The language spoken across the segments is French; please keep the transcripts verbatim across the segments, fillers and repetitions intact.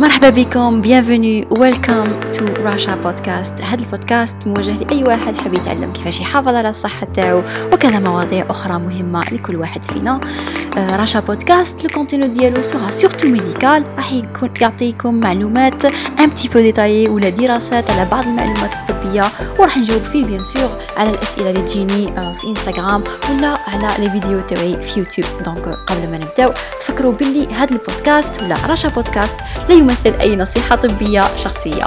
مرحبا بكم bienvenue welcome to Russia podcast. هذا البودكاست موجه لأي واحد حاب يتعلم كيفاش يحافظ على الصحة تاعو وكذا مواضيع أخرى مهمة لكل واحد فينا. راشا بودكاست الكونتينو ديالو سورا سورتو ميديكال، راح يكون يعطيكم معلومات un petit peu détaillées ولا دراسات على بعض المعلومات الطبية، وراح نجاوب فيه بيان سور على الأسئلة اللي تجيني في انستغرام ولا على لي فيديو تاعي في يوتيوب. دونك قبل ما نبداو تفكروا باللي هذا البودكاست ولا راشا بودكاست لا يمثل أي نصيحة طبية شخصية.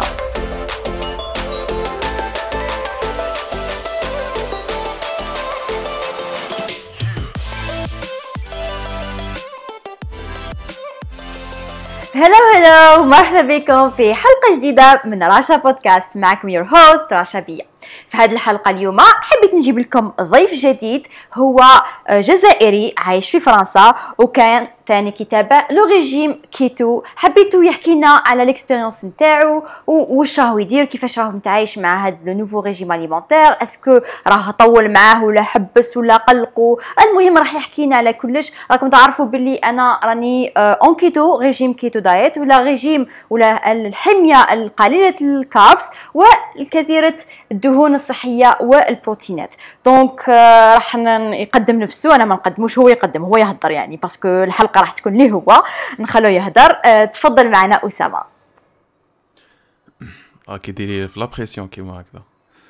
هلو هلو مرحبا بكم في حلقة جديدة من راشا بودكاست. معكم يور هوست راشا بيا. في هذه الحلقة اليوم حبيت نجيب لكم ضيف جديد، هو جزائري عايش في فرنسا وكان تاني كتابة لو ريجيم كيتو. حبيتو يحكي لنا على الاكسبيريونس نتاعو واش راهو يدير، كيفاش راهو متعايش مع هذا لو نوفو ريجيم اليمونتير، اسكو راه طول معاه ولا حبس ولا قلقو. المهم راح يحكي لنا على كلش. راكم تعرفوا باللي انا راني اون كيتو ريجيم كيتو دايت ولا ريجيم ولا الحمية القليلة الكاربس والكثيرة الدهون الصحية والبروتينات. دونك راح يقدم نفسه، انا ما نقدموش، هو يقدم، هو يهدر يعني، باسكو الحلقة راح تكون ليه هو، نخلوه يهدر. أه تفضل معنا أسامة. اه كي ديري في لا بريسيون كيما هكذا.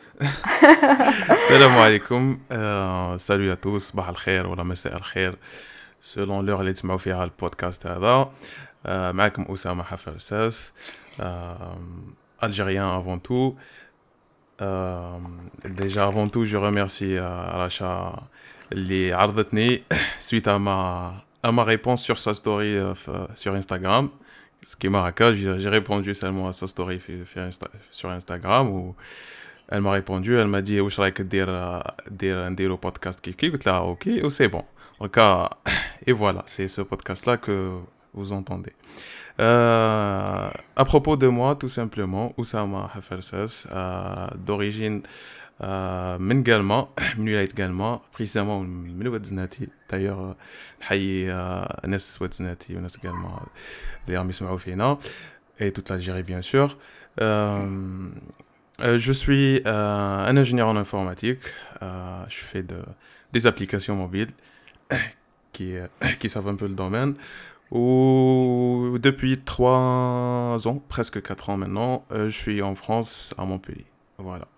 السلام عليكم، سالو يا توس، صباح الخير ولا مساء الخير سولون لور اللي تسمعوا فيها البودكاست هذا. آه معكم أسامة حفرساس، algérien avant tout. Euh, déjà avant tout je remercie euh, Racha اللي عرضتني suite à ma à ma réponse sur sa story euh, sur Instagram. Ce qui m'a raconté, j'ai, j'ai répondu seulement à sa story sur Instagram où elle m'a répondu, elle m'a dit واش رايك دير دير نديرو podcast كيف كيف. قلت لها اوكي و سي بون. Donc et voilà, c'est ce podcast là que vous entendez. Euh, à propos de moi, tout simplement, Oussama Hafersas, euh, d'origine euh, من قلمة، من ولاية قلمة، précisément من ودزناتي. d'ailleurs نحيي ناس ودزناتي وناس قلمة اللي راهم يسمعوا فينا et toute l'Algérie bien sûr. Euh, je suis euh, un ingénieur en informatique. Euh, je fais de, des applications mobiles qui, qui savent un peu le domaine. Ou depuis trois ans, presque quatre ans maintenant, euh, je suis en France, à Montpellier. Voilà.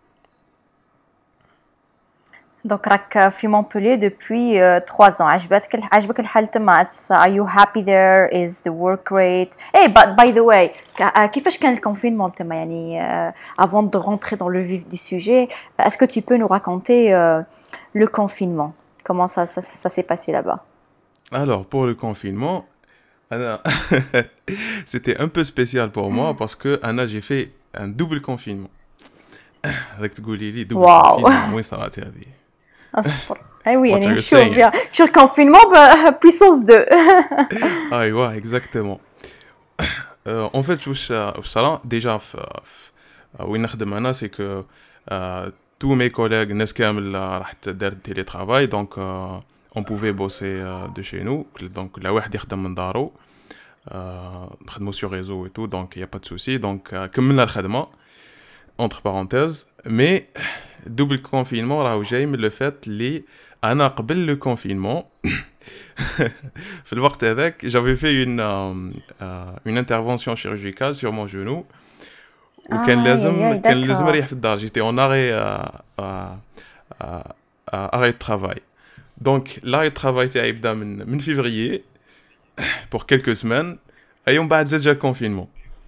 Donc راك في مونبولي depuis trois ans. عجبتك عجبك الحال تما؟ Are you happy there? Is the work great? Hey, but by the way, كيفاش كان الكونفينمون تما يعني avant de rentrer dans le vif du sujet, est-ce que tu peux nous raconter euh, le confinement? Comment ça ça, ça s'est passé là-bas? Alors pour le confinement, Anna, c'était un peu spécial pour moi parce que Anna, j'ai fait un double confinement. Avec تقولي لي double confinement وين صارت هذه؟ اصبر. اي يعني نشوف بيان شو الكونفينمون بويسونس deux. ايوا اكزاكتومون. en fait واش واش صرا ديجا وين نخدم انا سي كو tous mes collègues الناس كامل راحت دار تيلي ترافاي. دونك on pouvait bosser de chez nous. donc لا واحد يخدم من دارو، نخدمو sur réseau et tout, donc y a pas de souci. donc كملنا الخدمه entre parenthèses. mais double confinement راهو جاي من لو فات اللي انا قبل لو كونفينمون في الوقت هذاك j'avais fait une euh, une intervention chirurgicale sur mon genou وكان لازم كان لازم نريح في الدار. جيتي اون اري اري travail. donc l'arrêt de travail تاعي يبدا من من février pour quelques semaines et on بعد زاد جا الكونفينمون.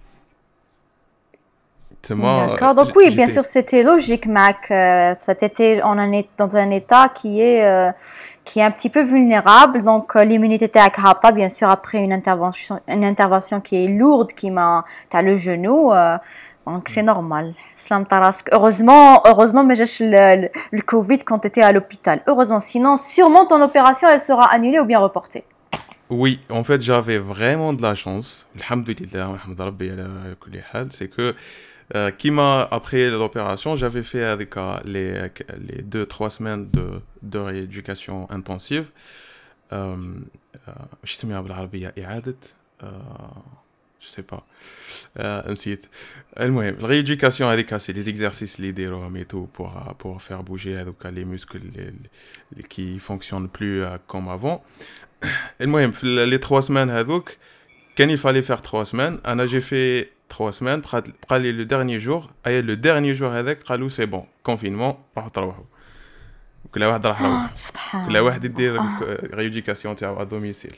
D'accord, donc oui, bien sûr, c'était logique, Mac. Euh, cet été, on est dans un état qui est, euh, qui est un petit peu vulnérable. Donc, euh, l'immunité était à bien sûr, après une intervention, une intervention qui est lourde, qui m'a, t'as le genou. Euh, donc, c'est normal. Heureusement, heureusement, mais j'ai le, le, le Covid quand tu étais à l'hôpital. Heureusement, sinon, sûrement ton opération, elle sera annulée ou bien reportée. Oui, en fait, j'avais vraiment de la chance. Alhamdoulilah, Mohamed Rabbi ala kulli hal, c'est que Euh, qui m'a après l'opération, j'avais fait avec euh, les les deux trois semaines de de rééducation intensive. Euh, je sais pas بالعربية إعادة je sais pas. آه نسيت. المهم الريéducation هذيك سي les exercices اللي يديروهم et tout pour euh, pour faire bouger هذوك les muscles اللي اللي qui fonctionnent plus euh, comme avant. المهم في ال- les trois semaines هذوك كان il fallait faire trois semaines. انا j'ai fait trois semaines. بقى بقى لي le dernier jour اي le dernier jour هذاك قالوا c'est bon confinement راحوا تروحوا. كل واحد راح آه، روح. كل سبحان واحد الله. يدير آه. ريéducation تاعو à domicile.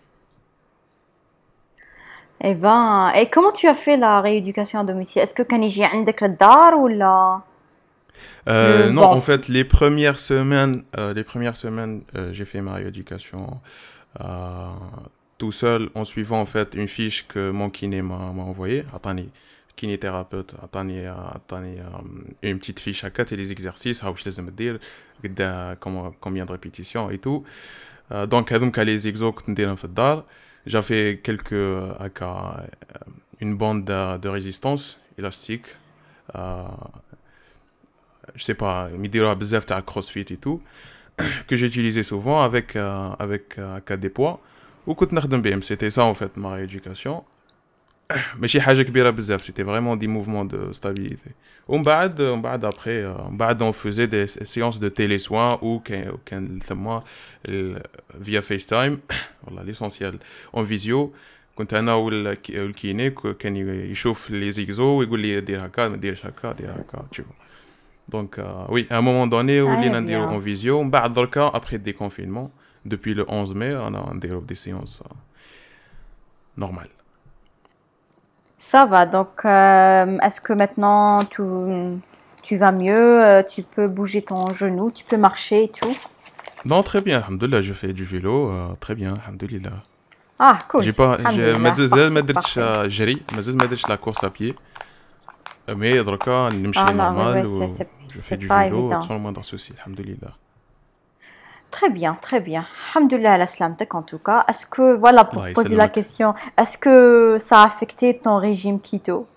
Eh ben, et comment tu as fait la rééducation à domicile? Est-ce que كان يجي عندك للدار ولا le Euh, non, bon en fait, les premières semaines, euh, les premières semaines, euh, j'ai fait ma rééducation euh, tout seul en suivant en fait une fiche que mon kiné m'a m'a envoyée. Attendez, kinésithérapeute, attendez, attendez, euh, une petite fiche à quatre et les exercices, how je les aime dire, قد- comment- combien de répétitions et tout. Euh, donc, هذوك les exos كنت نديرهم في الدار. J'ai fait quelques euh, هكا, euh, une bande de, de résistance élastique. Euh, je sais pas, ميديروها بزاف تاع CrossFit et tout, que j'utilisais souvent avec euh, avec euh, هكا des poids وكنت نخدم بهم. C'était ça en fait ma rééducation. ماشي حاجة كبيرة بزاف, c'était vraiment des mouvements de stabilité. ومن بعد ومن بعد après euh, من بعد on faisait des séances de télésoins ou كان كان ثما ال- via FaceTime. والله l'essentiel en visio. كنت انا والك- والكيني كان يشوف لي زيكزو ويقول لي دير هكا ما ديرش هكا دير هكا tu vois. Donc, euh, oui, à un moment donné, où très les Nandiros en bien. visio, بعد دركا, après le déconfinement, depuis le onze mai, on a des, des séances euh, normales. Ça va, donc euh, est-ce que maintenant tu, tu vas mieux, euh, tu peux bouger ton genou, tu peux marcher et tout? Non, très bien, alhamdoulilah, je fais du vélo, euh, très bien, alhamdoulilah. Ah, cool. J'ai pas, j'ai, ما Alhamdulillah. زال ما Parfait, درتش parfait. آه، جري, ما زال ما درتش la course à pied, mais دركا نمشي Ah non, oui, normal oui, c'est, ou c'est, je fais c'est du pas vélo évident. sans le moindre souci, alhamdoulilah. Très bien, très bien. Alhamdulillah ala salamtek en tout cas. Est-ce que, voilà, pour Allah poser la يسلمك. question, est-ce que ça a affecté ton régime keto?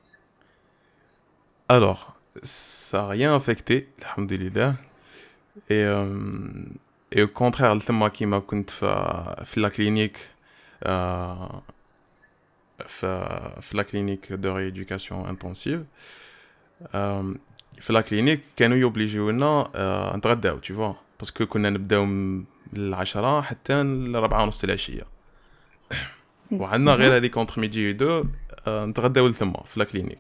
Alors, ça a rien affecté, alhamdoulilah. Et, euh, et au contraire, الثما كيما كنت في في la clinique, euh, في في la clinique de rééducation intensive, euh, في la clinique كانوا يوبليجيونا euh, نتغداو tu vois, parce que كنا نبداو من العشرة حتى الربعة ونص العشية, وعندنا Mhm. غير هذيك entre midi et deux euh, نتغداو لثما في la clinique.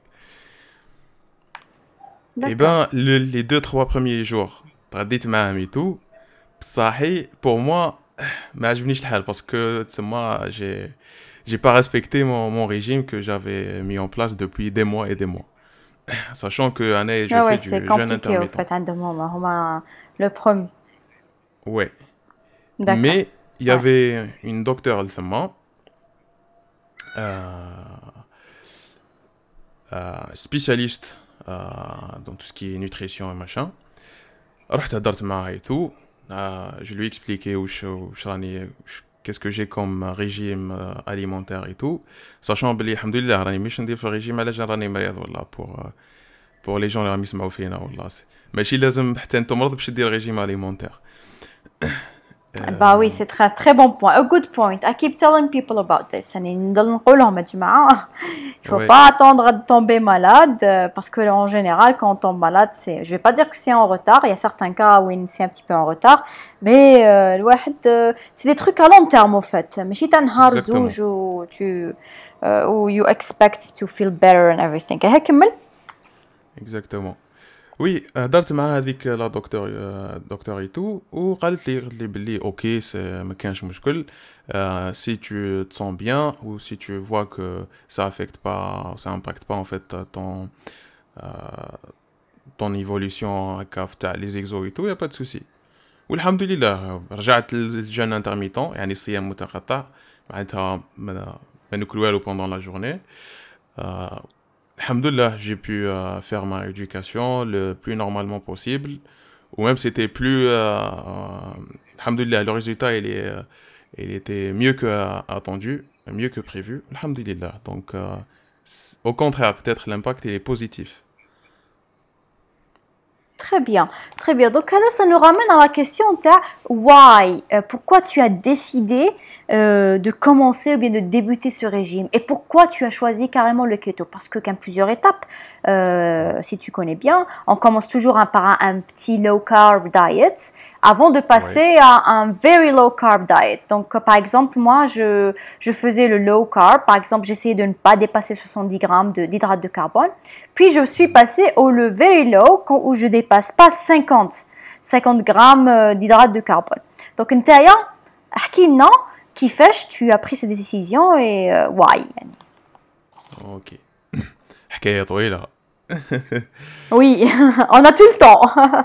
Et D'accord. ben le, les deux trois premiers jours تغديت معاهم et tout, بصحي pour moi ما عجبنيش الحال parce que تسمى j'ai j'ai pas respecté mon, mon régime que j'avais mis en place depuis des mois et des mois, sachant que أنا je Ah ouais, fais c'est du jeûne compliqué au intermittent. fait, عندهم هما le premier. Ouais, D'accord. mais il y Ouais. avait une docteure الثما euh, euh, spécialiste euh, dans tout ce qui est nutrition et machin. رحت هدرت معاها et tout. Euh, je lui ai expliqué وش وش راني وش- qu'est-ce que j'ai comme régime euh, alimentaire et tout, sachant بلي الحمد لله راني مش ندير في الريجيم على جال راني مريض والله pour euh, pour les gens اللي راهم يسمعوا فينا والله سي- ماشي لازم حتى انت مرض باش دير ريجيم alimentaire. Bah oui, c'est très très bon point. A good point. I keep telling people about this. يعني نضل نقولهم يا جماعة. Il faut Ouais, pas attendre de tomber malade euh, parce que en général, quand on tombe malade, c'est, je vais pas dire que c'est en retard. Il y a certains cas où c'est un petit peu en retard, mais euh, الواحد, euh, c'est des trucs à long terme au fait. ماشي تاع نهار exactement, زوج و tu euh, ou you expect to feel better and everything. هيك كمل. exactement. وي هدرت مع هذيك لا دكتور دكتور اي تو وقالت لي قالت لي بلي اوكي سي ما كانش مشكل, euh, si tu te sens bien ou si tu vois que ça affecte pas, ça impacte pas en fait ton euh, ton évolution هكا في تاع les exos et tout, y a pas de souci. والحمد لله رجعت للجيم انترميتون, يعني الصيام متقطع, معناتها ما ما ناكل والو pendant la journée. Euh, Alhamdoulilah, j'ai pu euh, faire ma éducation le plus normalement possible. Ou même c'était plus... Euh, euh, Alhamdoulilah, le résultat, il, est, euh, il était mieux que euh, attendu, mieux que prévu. Alhamdoulilah. Donc, euh, c- au contraire, peut-être l'impact, il est positif. Très bien, très bien. Donc là, ça nous ramène à la question de why, euh, pourquoi tu as décidé euh, de commencer ou bien de débuter ce régime et pourquoi tu as choisi carrément le keto? Parce que qu'il y a plusieurs étapes, euh, si tu connais bien, on commence toujours un, par un, un petit low carb diet avant de Ouais. passer à un very low carb diet. Donc euh, par exemple, moi, je, je faisais le low carb. Par exemple, j'essayais de ne pas dépasser soixante-dix grammes de- d'hydrates de carbone. Puis je suis passée au le very low où je dépasse pas cinquante grammes euh, d'hydrates de carbone. Donc نتايا احكي لنا كيفاش tu as pris cette décision et euh, why يعني. اوكي. حكايه طويله. Oui, on a tout le temps.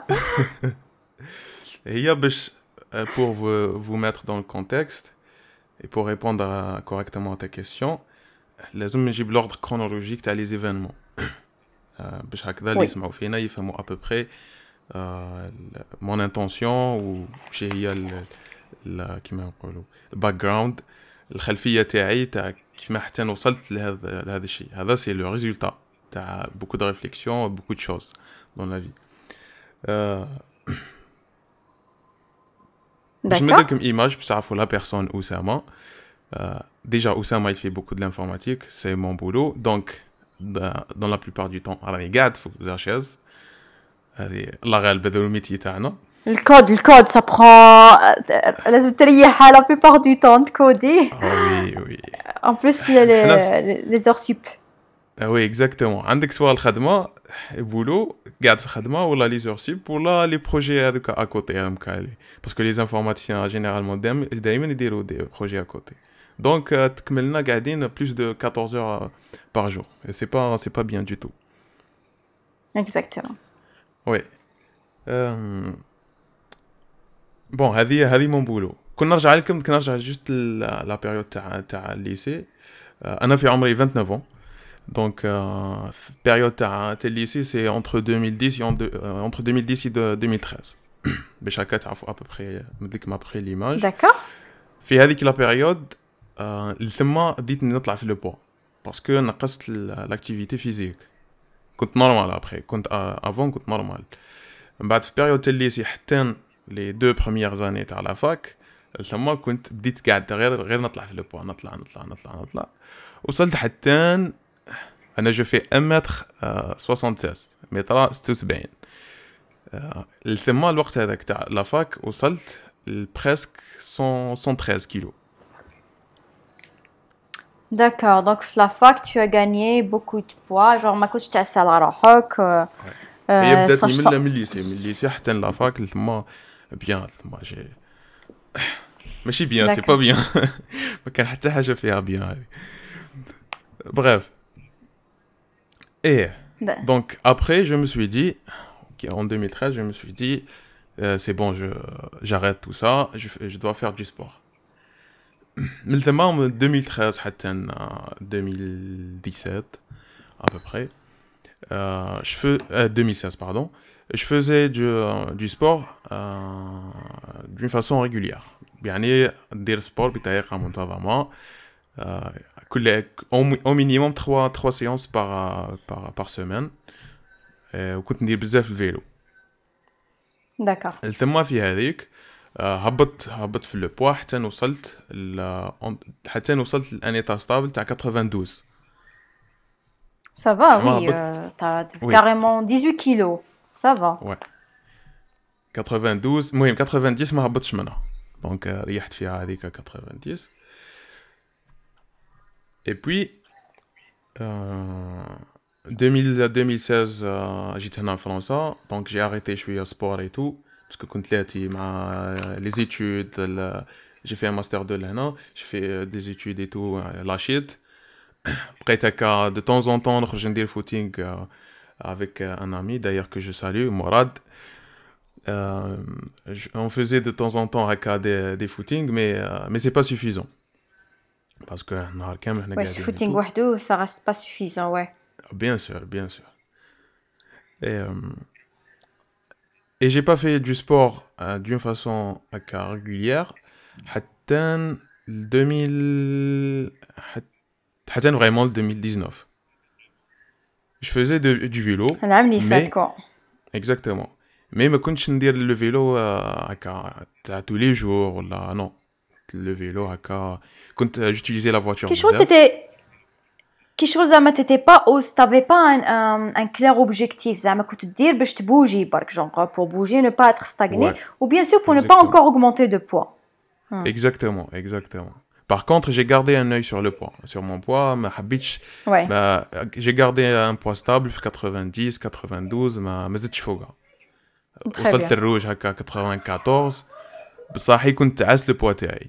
هي باش euh, pour vous, vous mettre dans le contexte et pour répondre à- correctement à ta question, لازم نجيب l'ordre chronologique تاع les événements. آه، باش هكذا اللي Oui, يسمعوا فينا يفهموا à peu près آه، ال- mon intention وش هي ال- ال- كيما نقولوا الباك جراوند، الخلفيه تاعي تاع كيف ما حتى وصلت لهذا لهذا الشيء. هذا سي لو ريزولتا تاع beaucoup de réflexion beaucoup de choses dans la vie. آه، باش نمد d'accord. لكم ايماج باش تعرفوا لا بيرسون اسامه. Euh, déjà, Oussama, il fait beaucoup de l'informatique, c'est mon boulot. Donc, dans, dans la plupart du temps, alors, regarde, faut que la chaise. هذه الله غالب هذا الميتي تاعنا. Le code, le code, ça prend لازم تريح la plupart du temps de coder. Ah oui, oui. En plus les, حنا les, les heures sup. ah oui, exactement. عندك سواء الخدمة boulot قاعد في خدمة ولا les heures sup ولا les projets هذوك à côté هذوك اللي parce que les informaticiens généralement دايما دايما يديروا des projets à côté. Donc euh, تكملنا قاعدين plus de quatorze heures par jour et c'est pas c'est pas bien du tout. Exactement. Oui. Euh... بون هذه هذه مون بولو. كنا نرجع لكم كنا نرجع جوست لا بيريود تاع تاع الليسي. انا في عمري vingt-neuf ans دونك في البيريود تاع تاع الليسي سي entre deux mille dix et entre deux mille dix et deux mille treize باش هكا تعرفوا ابوبري نديك ما بخي ليماج. D'accord. في هذيك لا بيريود ثم بديت نطلع في لو بوا باسكو نقصت لاكتيفيتي فيزيك. كنت نورمال ابخي كنت افون كنت نورمال. من بعد في البيريود تاع الليسي حتى les deux premières années تاع لا فاك ثم كنت بديت قاعد غير غير نطلع في البوا نطلع نطلع نطلع نطلع وصلت حتى انا جو في un mètre soixante-seize متر ستة وسبعين. ثم الوقت هذاك تاع لا فاك وصلت presque cent treize كيلو. D'accord. Donc la fac tu as gagné beaucoup de poids genre ما كنتش تعسل على روحك. هي Euh, ça, بداتني je من sens- من الليسي من الليسي حتى لا فاك ثم بيان ثم جي ماشي بيان سي با D'accord. بيان ما كان حتى حاجه فيها بيان هذه. Bref. Et Da- donc après, je me suis dit, ok, en deux mille treize, je me suis dit, euh, c'est bon, je j'arrête tout ça, je, fais- je dois faire du sport. من ثم من deux mille treize حتى deux mille dix-sept à peu près, euh, je fais euh, deux mille seize pardon, je faisais du, euh, du sport euh, d'une façon régulière. يعني ندير سبور بطريقة منتظمة. Euh, كل- au, mi- au minimum trois trois séances par par par semaine. آه، وكنت ندير بزاف الفيلو. D'accord. ثم في هذيك آه، هبط هبط في لو بوا حتى وصلت ل- حتى وصلت لان ايتا ستابل تاع اثناش. Ça va, زعما oui. هبط. Euh, t'as وي carrément dix-huit kilos. Ça va. وي اثناش المهم تسعين ما هبطش منها دونك آه، ريحت فيها هذيك تسعين. et puis euh, deux mille deux mille seize euh, j'étais en France donc j'ai arrêté شويه sport et tout parce que كنت لاتي مع les études ال- j'ai fait un master deux لهنا j'ai fait euh, des études et tout euh, lâchيت. بقيت هكا de temps en temps نخرج ندير footing euh, avec euh, un ami d'ailleurs que je salue Mourad. Euh, je- on faisait de temps en temps هكا des, des footings mais euh, mais c'est pas suffisant parce que نهار كامل حنا Ouais, ce قاعدين et footing tout. وحده, ça reste pas suffisant, ouais. Bien sûr, bien sûr. Et, euh, et j'ai pas fait du sport euh, d'une façon euh, régulière. حتى le deux mille حت- حتى vraiment le deux mille dix-neuf. Je faisais de- du vélo, العام اللي فات mais كون. exactement. مي ما كنتش ندير لو فيلو هكا تاع tous les jours ولا نو. لو فيلو هكا كنت جوتيليزي لا فواتور كي شغل بزاف. تيتي كي شغل زعما تيتي با او ستافي با ان ان كلير اوبجيكتيف زعما كنت دير باش تبوجي برك جونغ بور بوجي نو با اتر ستاغني Ouais, ou bien sûr pour ne pas exactement. encore augmenter de poids. Exactement, exactement. Par contre, j'ai gardé un œil sur le poids, sur mon poids. Ma habitch, Ouais. bah, j'ai gardé un poids stable, quatre-vingt-dix, quatre-vingt-douze, ما ما زدتش فوقها. Très وصلت bien. الروج هكا quatre-vingt-quatorze. بصحي كنت عاس le poids تاعي.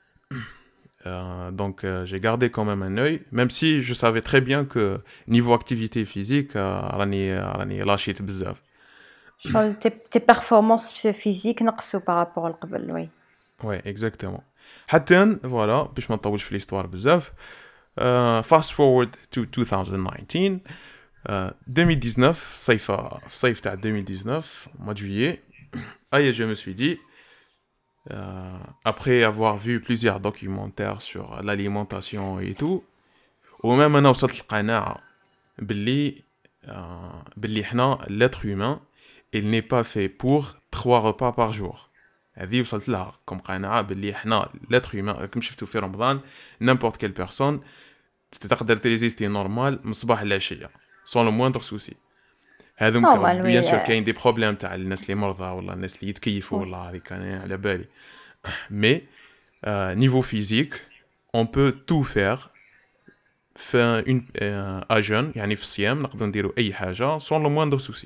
Euh, donc euh, j'ai gardé quand même un œil, même si je savais très bien que niveau activité physique, euh, راني راني لاشيت بزاف. شغل tes tes performances physiques نقصوا par rapport لقبل. Oui. Ouais, exactement. حتى voilà, باش ما نطولش في l'histoire بزاف. Uh, fast forward to twenty nineteen, uh, twenty dix-neuf, صيف صيف تاع twenty dix-neuf, mois de juillet. Aïe, je me suis dit, euh, après avoir vu plusieurs documentaires sur l'alimentation et tout, ou même أنا وصلت القناعة باللي uh, باللي حنا l'être humain, il n'est pas fait pour trois repas par jour. هذه وصلت لها كم قناعة باللي حنا l'être humain كم شفتوا في رمضان n'importe quelle personne تقدر تريزيستي نورمال من الصباح للعشية سون لو موندر سوسي. هذا Normal, بيان oui. سور euh, كاين دي بروبليم تاع الناس اللي مرضى ولا الناس اللي يتكيفوا Oui. ولا هذيك انا على بالي. مي نيفو فيزيك اون بو تو فير في اون ا جون يعني في الصيام نقدروا نديروا اي حاجه سون لو موندر سوسي.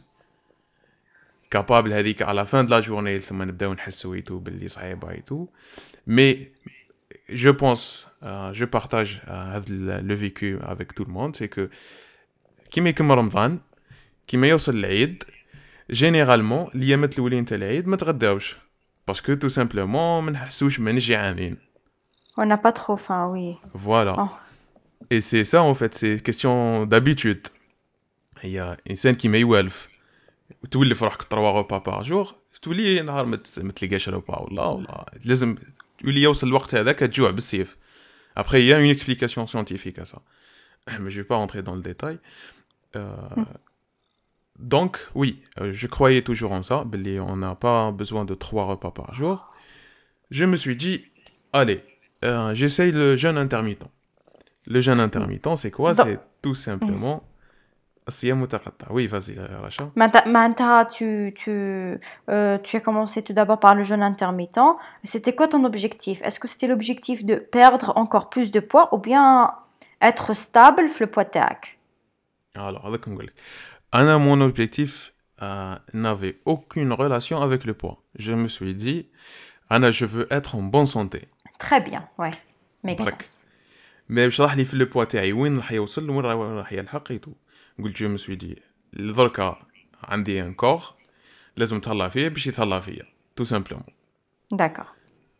كابابل هذيك على فان دو لا جورني ثم نبداو نحسوا ايتو باللي صعيبه ايتو. مي je pense, euh, je partage euh, le vécu avec tout le monde, c'est que كيما يكمل رمضان كيما يوصل العيد جينيرالمون اليامات الاولين تاع العيد ما تغداوش باسكو تو سامبلومون ما نحسوش ما جيعانين. On n'a pas trop faim, oui. Voilà. Oh. Et c'est ça en fait, c'est question d'habitude. هي انسان كيما يوالف تولف روحك trois repas par jour تولي نهار ما تلقاش ربا ولا ولا لازم تولي يوصل الوقت هذاك تجوع بالسيف. Après, il y a une explication scientifique à ça. Mais je vais pas rentrer dans le détail. Euh, donc, oui, euh, je croyais toujours en ça. On n'a pas besoin de trois repas par jour. Je me suis dit, allez, euh, j'essaye le jeûne intermittent. Le jeûne intermittent, c'est quoi? Donc- C'est tout simplement... الصيام متقطع. Oui, vas-y, Racha. Manta, tu, tu, euh, tu as commencé tout d'abord par le jeûne intermittent. C'était quoi ton objectif? Est-ce que c'était l'objectif de perdre encore plus de poids ou bien être stable le poids تاعك? Alors, avec un Anna, mon objectif euh, n'avait aucune relation avec le poids. Je me suis dit, Anna, je veux être en bonne santé. Très bien, ouais. Make برك. sense. Mais باش راح لي في البوا تاعي وين راح يوصل وين راح يلحق ايتو. قلت جو مسوي دي دركا عندي ان كور لازم تهلا فيه باش يتهلا فيا تو سامبلومون. D'accord.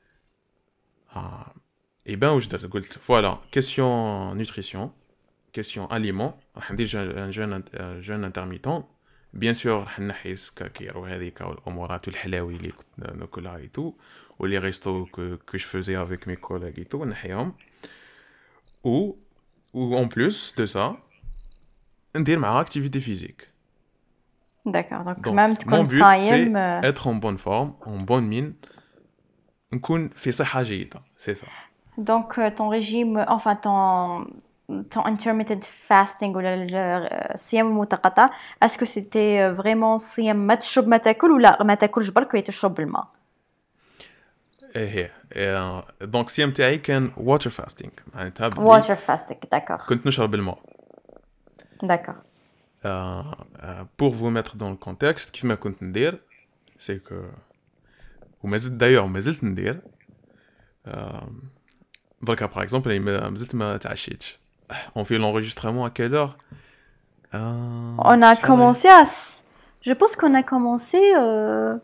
اه اي بان واش درت قلت فوالا كيسيون نوتريسيون كيسيون اليمون راح ندير جون جون جون انترميتون بيان سور راح نحي السكاكير وهذيك والامورات والحلاوي اللي كنت ناكلها ايتو ولي ريستو كو كو جو فوزي افيك مي كوليغ ايتو نحيهم و و en plus de ça ندير مع activité physique. D'accord. Donc, Donc, même mon تكون but, صايم. c'est euh, être en bonne forme, en bonne mine, نكون في صحة جيدة, c'est ça. Donc, euh, ton régime, enfin, ton, ton intermittent fasting ou le الصيام المتقطع, est-ce que c'était euh, vraiment صيام ما تشرب ما تاكل ولا ما تاكلش برك وتشرب الماء؟ ايه هي إيه، دونك الصيام تاعي كان water fasting معناتها بلي Water fasting, d'accord. كنت نشرب الماء. D'accord. Euh, euh, pour vous mettre dans le contexte كيف ما كنت ندير c'est que وما زلت d'ailleurs ما زلت ندير euh, دركا par exemple ما زلت ما تعشيتش. On fait l'enregistrement à quelle heure? Euh, On a شحال commencé à... s- Je pense qu'on a commencé... euh,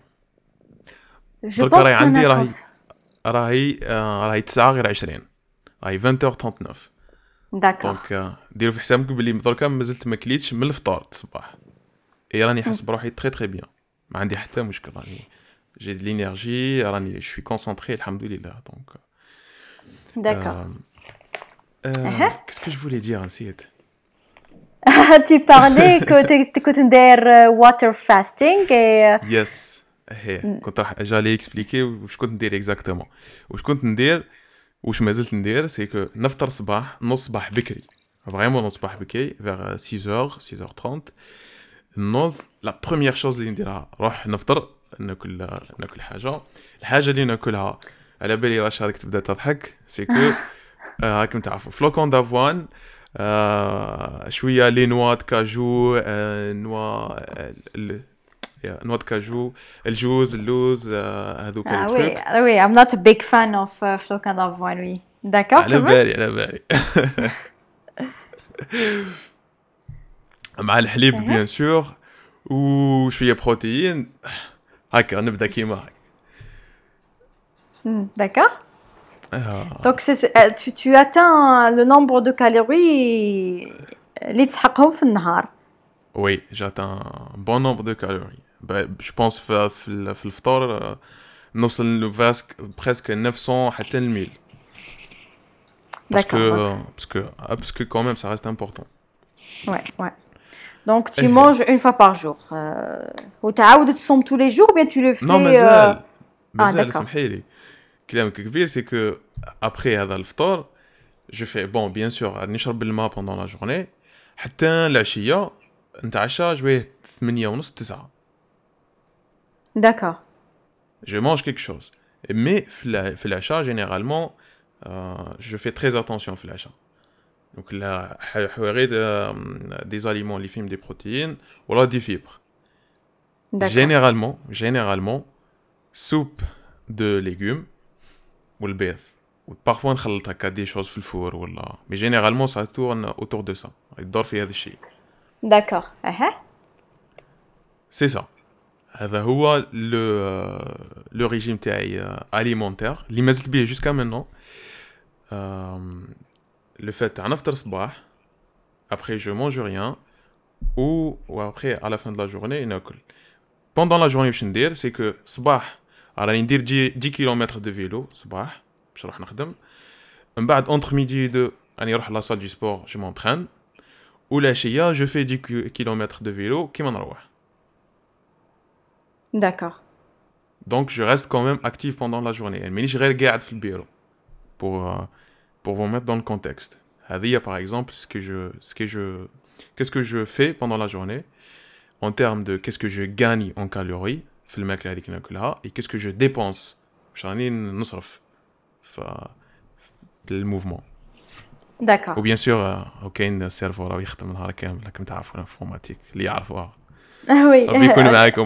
Je دركا pense راهي qu'on عندي a راهي commencé... راهي آه، راهي تسعة غير عشرين راهي vingt heures trente-neuf. D'accord. دونك آه، ديروا في حسابكم بلي دركا مازلت ما كليتش من الفطور الصباح. اي راني حاس بروحي تري تري بيان ما عندي حتى مشكل راني جي دي لينيرجي راني شوي كونسونطري الحمد لله دونك. D'accord. Euh, Uh-huh. Qu'est-ce que je voulais dire نسيت. tu parlais que tu كنت ندير water fasting et يس هي كنت راح جالي اكسبليكي واش كنت ندير اكزاكتومون. واش كنت ندير واش مازلت ندير سي كو نفطر صباح نص صباح بكري فريمون نص صباح بكري vers six heures six heures trente. نوض لا بروميير شوز اللي نديرها نروح نفطر ناكل ناكل حاجه. الحاجه اللي ناكلها على بالي راه راك تبدا تضحك سي كو راكم تعرفوا فلوكون دافوان آه شويه لي نوا كاجو آه نوا ال... نوا كاجو الجوز اللوز آه هذوك ah لي oui تروك. ah oui I'm not a big fan of uh, flocons d'avoine oui d'accord على بالي على بالي مع الحليب بيان سور وشويه بروتين هكا نبدا كيما هكا. Hmm, d'accord. آه. Donc c'est, c'est- euh, tu, tu atteins le nombre de calories اللي تسحقهم في النهار. Oui, j'atteins un bon nombre de calories. Bah, je pense في في ال- في الفطور آه، نوصل فاسك presque neuf cents حتى ل mille. Parce que D'accord. euh, parce que ah, parce que quand même ça reste important. Ouais, ouais. Donc tu manges une fois par jour. Euh, وتعاود تصوم tous les jours ou bien tu le fais Non, euh, مازال Ah مازال d'accord. سمحيلي كلامك كبير c'est que après هذا الفطور je fais bon bien sûr نشرب الماء pendant la journée حتى العشية نتعشى جويه ثمانية ونص تسعة. D'accord. Je mange quelque chose. Mais في الع- في العشاء généralement euh, je fais très attention في العشاء. Donc là حواري des aliments اللي فيهم des protéines ولا des fibres. D'accord. Généralement généralement soupe de légumes والبيض. Parfois نخلط هكا des choses في الفور ولا mais généralement ça tourne autour de ça. يدور في هذا الشيء. D'accord. Uh-huh. C'est ça. هذا هو le le régime تاعي alimentaire اللي مازلت بيه jusqu'à maintenant. Euh, le fait تاع نفطر صباح après je mange rien ou ou après à la fin de la journée ناكل. Pendant la journée واش ندير c'est que صباح راني ندير dix kilomètres de vélo صباح باش نروح نخدم. من بعد entre midi et deux راني نروح la salle du sport je m'entraîne. والعشية je fais dix kilomètres de vélo كيما نروح. D'accord. Donc je reste quand même actif pendant la journée. Mais je reste قاعد في البيرو pour euh, pour vous mettre dans le contexte. هذه par exemple ce que je ce que je qu'est-ce que je fais pendant la journée en termes de qu'est-ce que je gagne en calories في الماكلة هذيك ناكلها et qu'est-ce que je dépense باش راني نصرف في الموفمون. D'accord. وبيان سور كاين السيرفو راه يخدم نهار كامل راكم تعرفوا الانفورماتيك اللي يعرفوها Ah oui. بيكون معاكم.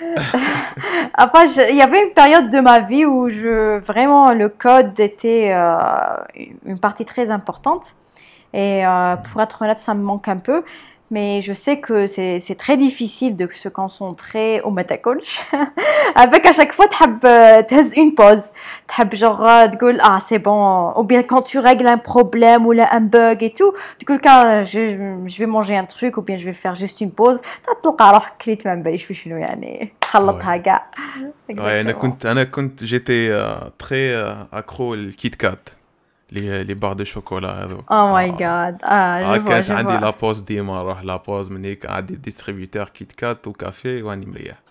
Enfin, je- il y avait une période de ma vie où je vraiment le code était euh, une partie très importante et euh, pour être honnête, ça me manque un peu. Mais je sais que c'est c'est très difficile de se concentrer au متاكلش. Avec à chaque fois تحب تهز une pause. تحب genre تقول ah c'est bon ou bien quand tu règles un problème ou là un bug et tout تقول كان je je vais manger un truc ou bien je vais faire juste une pause تلقى روحك كليت ما نباليش في شنو يعني خلطها كاع. Ouais, انا كنت انا كنت j'étais euh, très euh, accro الكيت كات les les barres de chocolat هذو. Oh my god. Ah, آه je vois, كانت je عندي vois. لا بوز ديما نروح لا بوز من هيك عندي ديستريبيوتور كيت كات وكافي واني مريح.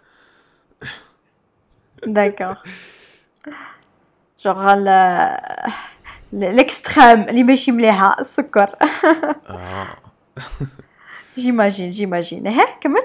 D'accord. Genre ال- ال- l'extrême اللي ماشي مليحة السكر. آه. J'imagine, j'imagine. ها كمل.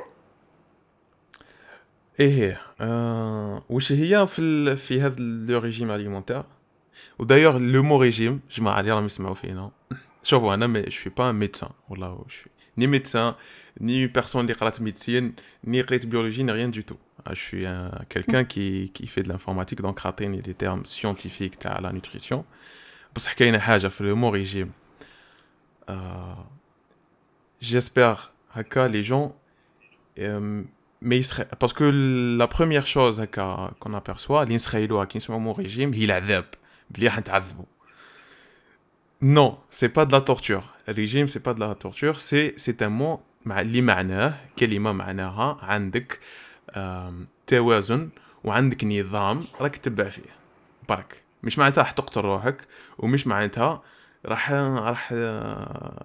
ايه آه. وش هي في ال... في هذا لو ريجيم اليمونتير ودايوغ لو مو ريجيم جماعة اللي راهم يسمعوا فينا شوفوا انا مي شوي با ميدسان والله شوي ني ميدسان ني بيرسون اللي قرات ميديسين ني قريت بيولوجي ني ريان دو تو. je suis un, quelqu'un qui qui fait de l'informatique donc عطيني les termes scientifiques تاع la nutrition. بصح كاينه حاجه في لو مو ريجيم آه. j'espère هكا les gens euh, mais il serait parce que la première chose هكا qu'on aperçoit اللي نسخيلوها كي نسمعوا مو ريجيم هي العذاب بلي راح نتعذبوا. non c'est pas de la torture. Le régime c'est pas de la torture c'est c'est un mot مع اللي معناه كلمه معناها عندك آم، توازن وعندك نظام راك تتبع فيه برك مش معناتها راح تقتل روحك ومش معناتها راح راح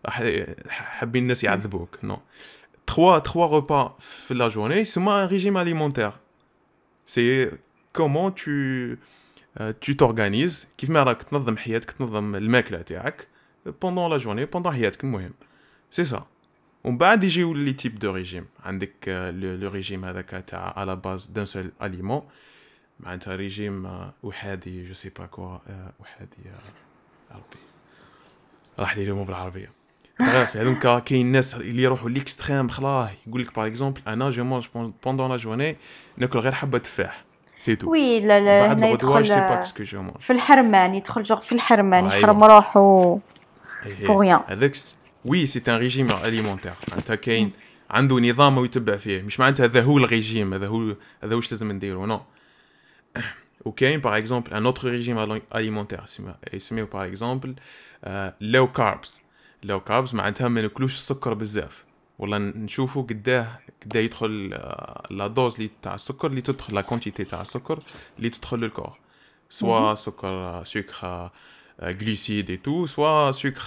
راح حابين الناس يعذبوك نو trois trois repas في la journée c'est un régime alimentaire c'est comment tu euh, tu t'organises كيف ما راك تنظم حياتك تنظم الماكله تاعك pendant la journée pendant حياتك المهم c'est ça ومن بعد يجيو لي تيب دو ريجيم عندك لو ريجيم هذاك تاع على باز دان سول اليمون معناتها ريجيم وحادي جو سي با كوا وحادي ربي راح لي اليوم بالعربيه bref هذوك كاين ناس اللي يروحوا ليكستريم خلاه يقول لك باغ اكزومبل انا جو مونج بوندون لا جورني ناكل غير حبه تفاح سي تو وي لا لا هنا يدخل في الحرمان يدخل جوغ في الحرمان يحرم روحو بوغيان هذاك وي سي ان ريجيم اليمونتير معناتها كاين عنده نظام ويتبع فيه مش معناتها هذا هو الريجيم هذا هو هذا واش لازم نديرو نو وكاين باغ اكزومبل ان اوتر ريجيم اليمونتير يسميو باغ اكزومبل لو كاربس لو كاربس معناتها ما ناكلوش السكر بزاف والله نشوفوا قداه قداه يدخل لا دوز لي تاع السكر اللي تدخل لا كونتيتي تاع السكر اللي تدخل للكور سوا سكر سكر glucides et tout soit sucre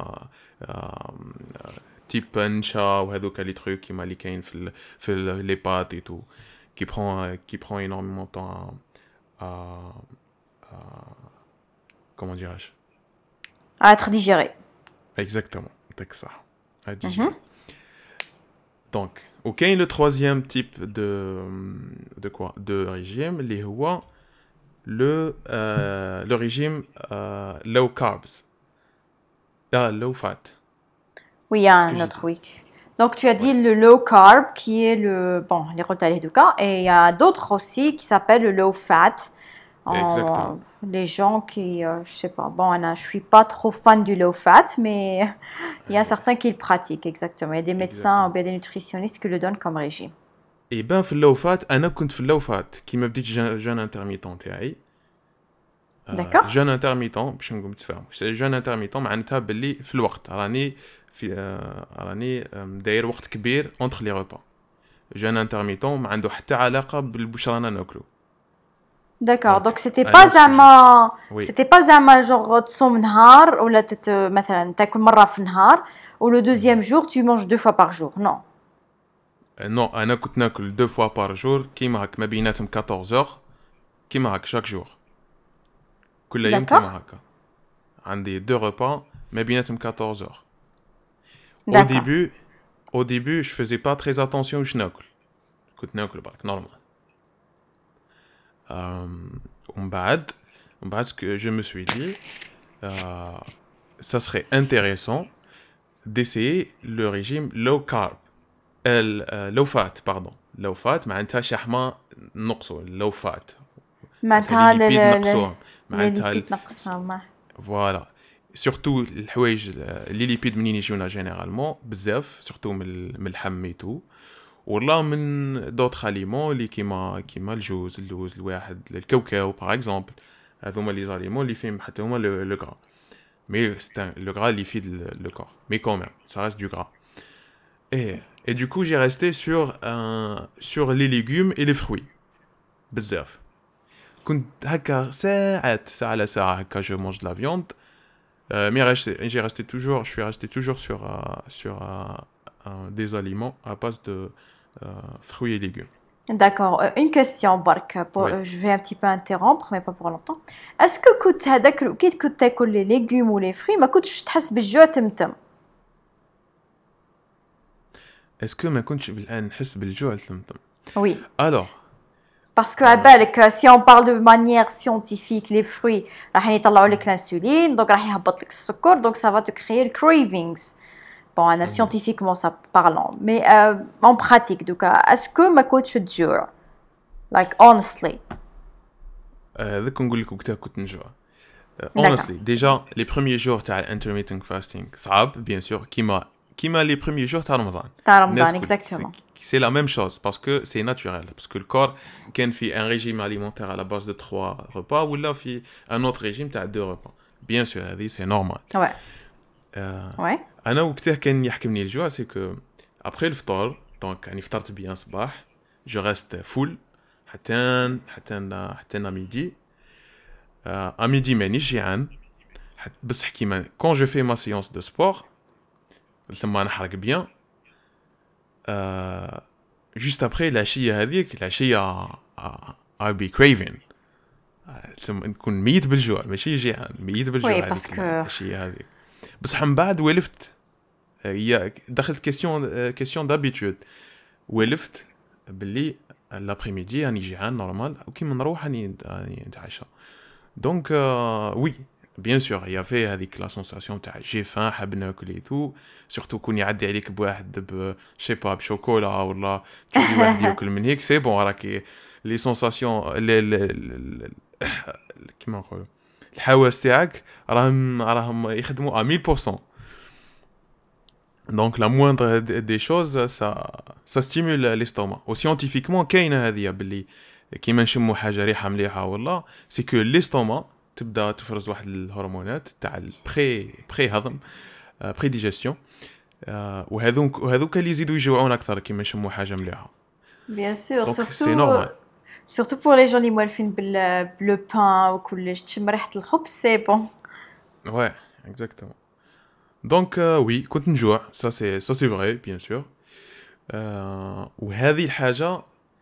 type ncha ou هذوك les trucs qui مالي كاين في في les pâtes et tout qui prend qui prend énormément de temps à, à comment dirais-je à être digéré exactement c'est ça à digérer donc ok le troisième type de de quoi de régime les هو le euh, le régime euh, low carbs ah low fat oui il y a un autre oui donc tu as dit ouais. le low carb qui est le bon les rôles de cas et il y a d'autres aussi qui s'appellent le low fat en, les gens qui euh, je sais pas bon Anna, je suis pas trop fan du low fat mais il y a certains qui le pratiquent exactement il y a des médecins ou bien des nutritionnistes qui le donnent comme régime et ben في اللو فات انا كنت في اللو فات كيما بديت جون انترميتون تاعي داكور جون انترميتون باش نقوم نتفاهم جون انترميتون معناتها باللي في الوقت راني في راني داير وقت كبير اونتر لي ريبا جون انترميتون ما عنده حتى علاقه بالبوش رانا ناكلو داكور دونك سيتي با زعما سيتي با زعما جوغ تصوم نهار ولا تت مثلا تاكل مره في النهار ولو دوزيام جور tu manges deux fois par jour non non انا كنت ناكل deux fois par jour كيما هك ما بيناتهم quatorze heures كيما هك chaque jour كل يوم كيما هكا عندي deux repas ما بيناتهم quatorze heures au début au début je faisais pas très attention واش ناكل كنت ناكل برك نورمال ومن بعد ومن بعد que je me suis dit euh, ça serait intéressant d'essayer le régime low carb ال low fat pardon low fat معناتها شحمة نقصوا low fat معناتها الليبيد معناتها نقصها فوالا سورتو الحوايج لي ليبيد منين يجونا جينيرالمون بزاف سورتو من اللحم ايتو ولا من دوطخ اليمون اللي كيما كيما الجوز اللوز الواحد الكاوكاو باغ اكزومبل هذوما لي زاليمون اللي فيهم حتى هما لو غرا مي سي لو غرا اللي يفيد لو كور مي كون ميم سا ريست دو غرا اي et du coup j'ai resté sur un sur les légumes et les fruits بزاف كنت هكا ساعات ساعة على ساعة هكا je mange de la viande euh, mais resté, j'ai resté toujours je suis resté toujours sur uh, sur uh, uh, des aliments à base de uh, fruits et légumes. D'accord, euh, une question bark pour, oui. euh, je vais un petit peu interrompre mais pas pour longtemps. Est-ce que كنت هذاك كي كنت تاكل les légumes ou les fruits ما كنتش تحس بالجوع تمتم؟ Est-ce que ما كنتش بالآن نحس بالجوع تمتم؟ Oui. Alors parce que à بالك si on parle de manière scientifique les fruits راح يطلعوا لك l'insuline donc راح يهبط لك السكر donc ça va te créer le cravings bon انا scientifiquement ça parlant mais euh, en pratique donc est-ce que ما كنتش تجوع like honestly هذاك نقول لك وقتها كنت نجوع honestly déjà les premiers jours تاع intermittent fasting صعب bien sûr كيما كيما les premiers jours تاع رمضان تاع رمضان exactement c'est la même chose parce que c'est naturel parce que le corps كان في un régime alimentaire à la base de trois repas ولا في un autre régime تاع deux repas bien sûr هذه c'est normal ouais euh, ouais انا وقتها كان يحكمني الجوع c'est que après الفطور donc يعني فطرت بيان صباح je reste full حتى حتى حتى ميدي à midi مانيش جيعان بصح كيما quand je fais ma séance de sport ثم نحرق بيان. آه جوست ابري العشيه هذيك العشيه I'll be craving. تسمى نكون ميت بالجوع، ماشي جيعان، ميت بالجوع وي هذيك باسكو العشيه هذيك. بصح من بعد ولفت، هي دخلت كيسيون كيسيون دابيتود، ولفت باللي لابريميدي راني جيعان نورمال، وكي نروح راني راني نتعشى. دونك وي بيان سور هي في هذيك لا سونساسيون تاع جي فان حاب ناكل اي تو، سورتو كون يعدي عليك بواحد ب شي با بشوكولا ولا تشوفي واحد ياكل من هيك سي بون راكي لي سونساسيون كيما نقولوا الحواس تاعك راهم راهم يخدموا مية بالمية. Donc la moindre des choses ça ça stimule l'estomac. Ou scientifiquement كاينه هذه باللي كيما نشموا حاجه ريحه مليحه والله سي كو l'estomac تبدا تفرز واحد الهرمونات تاع البري بري هضم بري ديجيستيون، وهذوك وهذوك اللي يزيدوا يجوعون اكثر كيما نشموا حاجه مليحه. بيان سور سي سورتو نورمال سورتو بور لي جون اللي موالفين بال بلو بان وكلش تشم ريحه الخبز سي بون. Ouais, exactement. Donc euh, oui, كنت نجوع، ça c'est ça c'est vrai bien sûr. euh, وهذه الحاجة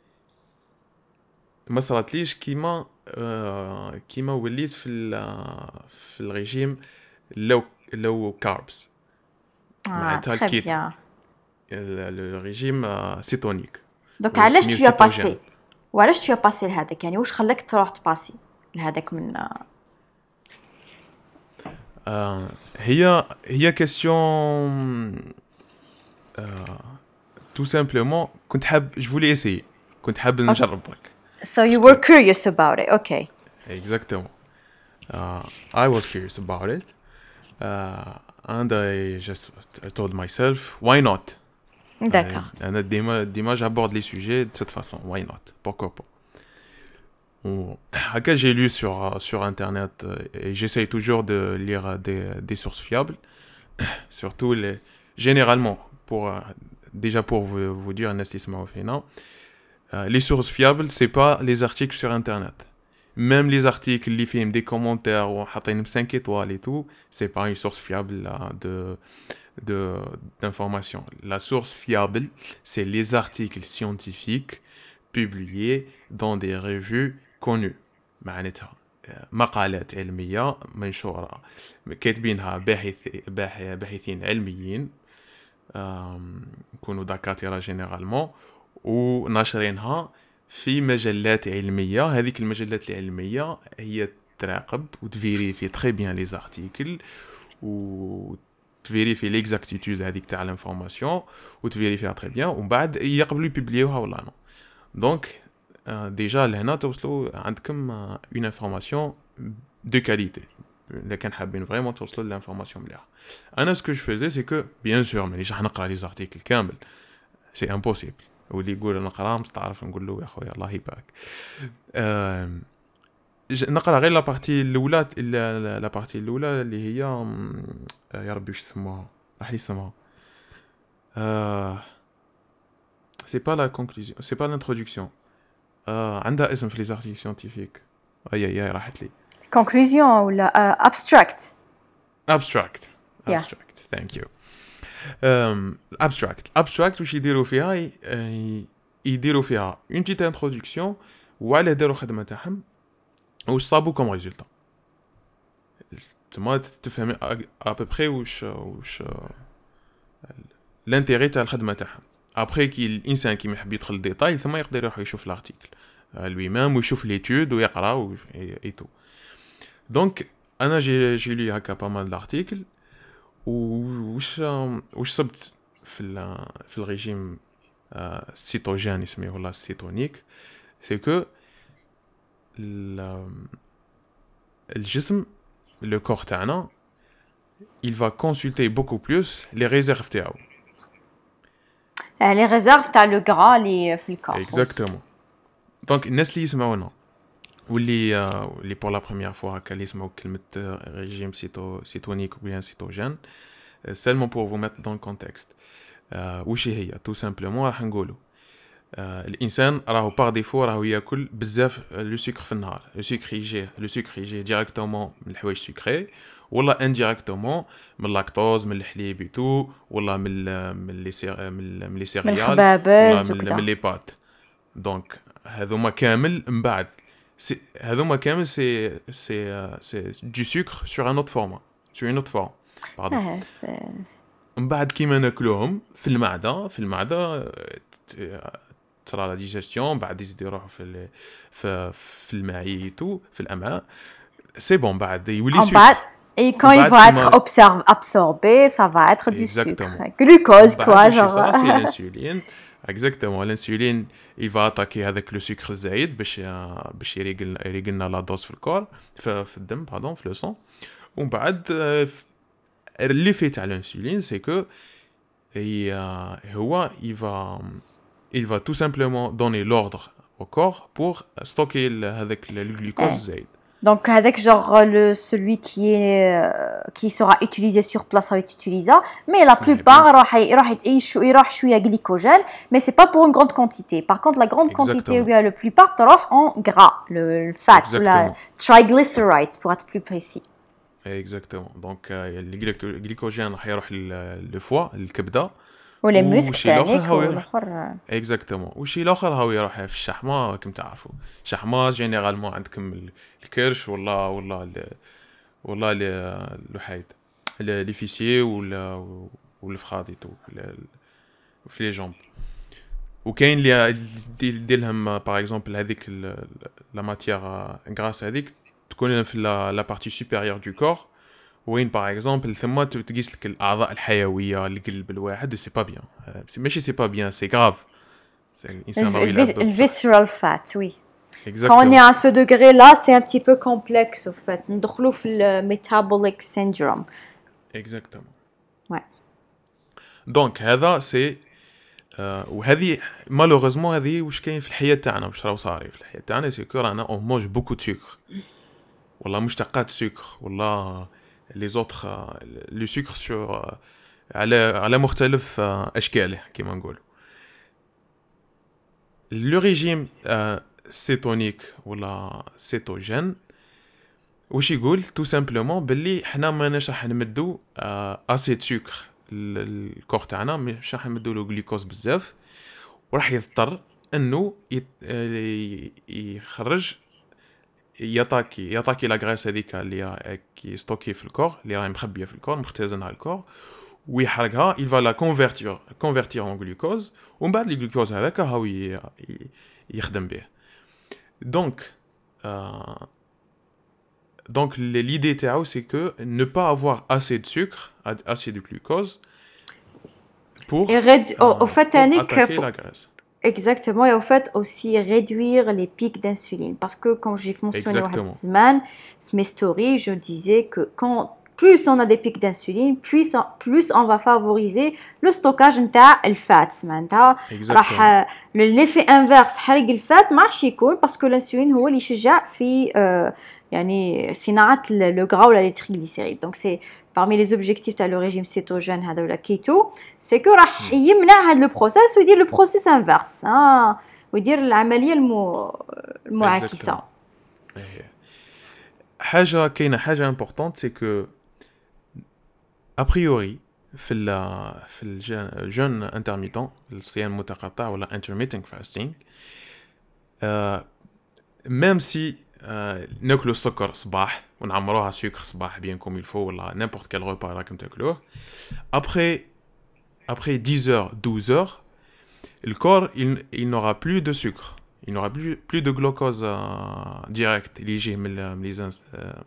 ما صارتليش كيما euh, كيما وليت في في الريجيم لو لو كاربس معناتها تري الكيتو، بيان. الريجيم سيتونيك. دونك علاش tu as passé وعلاش tu as passé لهذاك، يعني واش خلاك تروح تباسي لهذاك من آه هي هي كيسيون تو سامبلومون كنت حاب جو فولي اسيي، كنت حاب نجرب برك. So you were curious about it, okay. Exactement. Uh, I was curious about it, uh, and I just I told myself, why not? D'accord. أنا ديما ديما j'aborde les sujets de cette façon. Why not? Pourquoi pas? Haka j'ai lu sur sur internet et j'essaye toujours de lire des des sources fiables, surtout les généralement pour déjà pour vous vous dire un estime au final. Les sources fiables, c'est pas les articles sur internet. Même les articles, les films, des commentaires ou cinq étoiles et tout, c'est pas une source fiable là, de de d'information. La source fiable, c'est les articles scientifiques publiés dans des revues connues. معناتها مقالات علمية منشورة كاتبينها باحث باحثين علميين يكونوا دكاترة جينيرالمون، وناشرينها في مجلات علميه. هذيك المجلات العلميه هي تراقب وتفيريفي تري بيان لي زارتيكل وتفيريفي ليكزاكتيتود هذيك تاع الانفورماسيون وتفيريفيها تري بيان، ومن بعد يقبلوا يبوبليوها ولا نو. دونك ديجا لهنا توصلوا عندكم اون انفورماسيون دو كاليتي. اذا كان حابين فريمون توصلوا للانفورماسيون مليحه. انا سكو جو فيزي سي كو بيان سور مانيش راح نقرا لي زارتيكل كامل، سي امبوسيبل. واللي يقول انا قرا مستعرف نقول له يا خويا الله يبارك. أه نقرا غير لا بارتي الاولى، لا بارتي الاولى اللي هي يا ربي واش اسمها راح لي اسمها أه سي با لا كونكلوزيون سي با لانتروداكسيون، أه عندها اسم في لي زارتيكل سيانتيفيك. اي اي راحت لي كونكلوزيون ولا ابستراكت ابستراكت ابستراكت ثانك يو. abstract abstract واش يديروا فيها يديروا فيها une petite introduction وعلى داروا خدمه تاعهم واش صابوا كوم ريزولطا. تما تفهم ا بوبري واش واش لانتيري تاع الخدمه تاعهم. ابري كي الانسان كي يحب يدخل ديتاي ثم يقدر يروح يشوف لارتيكل لوي ميم ويشوف ليتود ويقرا اي تو. دونك انا جي جي لي هكا با مال دارتيكل وش وش صبت في في الريجيم السيتوجين اسمه ولا السيتونيك. سي كو الجسم لو كور تاعنا il va consulter beaucoup plus les réserves تاعو، لي ريزيرف تاع لو غرا لي في الكور. اكزاكتومون. دونك الناس اللي يسمعونا واللي اللي بور لا بروميير فوا هكا اللي يسمعوا كلمه ريجيم سيتو سيتونيك ou bien سيتوجين، seulement pour vous mettre dans le contexte. وش هي tout simplement راح نقولوا الانسان راهو باغ ديفو راهو ياكل بزاف لو سكر في النهار. لو سكر يجي لو سكر يجي ديريكتومون من الحوايج سكري ولا انديريكتومون من اللاكتوز من الحليب ايتو ولا من ال من لي سير من من لي سيريال ولا الخبابز من وكذا. من لي بات. دونك هذوما كامل من بعد سي هذوما كامل سي سي سي دو سكر سور ان اوت فورما سور ان اوت فورم باردون. اه سي- من بعد كيما ناكلوهم في المعده في المعده ت- ترى لا ديجيستيون بعد يزيد يروحوا في ال- في في المعيتو في الامعاء سي بون بعد يولي En bas, سكر. et quand من il بعد va être كيما observ- absorbé, ça va être du exactement. sucre. Glucose, من quoi, بعد وش genre. يصرى سي الانسولين اكزاكتومون. الانسولين يفا اتاكي هذاك لو سكر الزايد باش باش يريقل يريقلنا لا دوز في الكور في, في الدم باردون في لو سون. ومن بعد اللي في تاع الانسولين سي كو هي هو il va il va tout simplement donner l'ordre au corps pour stocker ال- هذاك le glucose Ouais. الزايد. Donc, avec genre le, celui qui, est, euh, qui sera utilisé sur place va être utilisé, mais la Ouais, plupart, bien راح ي- راح يت- il راح شوية glycogène, mais c'est pas pour une grande quantité. Par contre, la grande quantité, ou exactement bien le plupart, تروح en gras, le, le fat, ou la exactement triglycerides, pour être plus précis. exactement. دونك الجليكوجين راح يروح للفوا الكبده Ou les muscles, وشي الاخر تانيك، هو يروح والآخر- اكزاكتومون. وشي الاخر هو يروح في الشحمه كيما تعرفوا. الشحمه جينيرالمون عندكم ال- الكرش ولا ولا ال- ولا ال- الوحيد لي فيسيي ولا والفخاذيتو في لي جامب. وكاين اللي دير لهم باغ اكزومبل هذيك لا ماتيير غراس هذيك تكون في لا بارتي سوبيريور دو كور وين باغ اكزومبل ثم تقيس لك الاعضاء الحيويه القلب الواحد. سي با بيان ماشي سي با بيان سي غراف. الانسان Le, راهو le يلعب vis- le visceral fat, oui. Quand on est اكزاكتومون à ce degré-là, c'est un petit peu complexe, au fait. ندخلوا في le metabolic syndrome. اكزاكتومون. Ouais. دونك هذا سي آه وهذه مالوغوزمون هذه واش كاين في الحياه تاعنا واش راهو صاري في الحياه تاعنا سي كو رانا اون موج بوكو دو سكر ولا مشتقات سكر ولا لي زوتر لو سكر سور على على مختلف آه اشكاله كيما نقولوا. لو ريجيم آه سيتونيك ولا سيتوجين واش يقول تو سامبلومون باللي حنا ماناش راح نمدو آه اسي سكر الكور تاعنا مش راح نمدو له غلوكوز بزاف وراح يضطر انه يت... آه، يخرج يطاكي يطاكي لا غريس هذيك اللي كي ستوكي في الكور اللي راهي مخبيه في الكور مختزنه على الكور ويحرقها il va la convertir convertir en glucose ومن بعد الجلوكوز هذاك هو ي... ي- يخدم به. دونك آه... دونك l'idée تاعو c'est que ne pas avoir assez de sucre assez de glucose pour Et rédu- au, au euh, fait, pour Annick, attaquer pour- la graisse. exactement, et au fait aussi réduire les pics d'insuline. Parce que quand j'ai mentionné au Exactement. Hadizman, mes stories, je disais que quand plus on a des pics d'insuline, plus, on- plus on va favoriser le stockage de le fat. معناتها Exactement. راح l'effet inverse حرق الفات ما راح يكون parce que l'insuline هو اللي يشجع في آه، يعني صناعة le gras ولا les triglycérides. Donc c'est parmi les objectifs تاع le régime cétogène هذا ولا keto, c'est que راح يمنع هذا le process ويدير le process inverse. ها ويدير العملية المو المعاكسة. Exactement. إيه. حاجه كاينه حاجه امبورطونت سي كو ابريوري في ال في الجون انترميتون الصيام المتقطع ولا intermittent fasting آه ميم سي آه ناكلو السكر صباح ونعمروها سكر صباح بيان كوم يلفو ولا نيمبورت كال روبا راكم تاكلوه ابري après dix heures douze heures le corps il, il n'aura plus de sucre il n'aura plus, plus de glucose euh, direct اللي يجي من ال- من les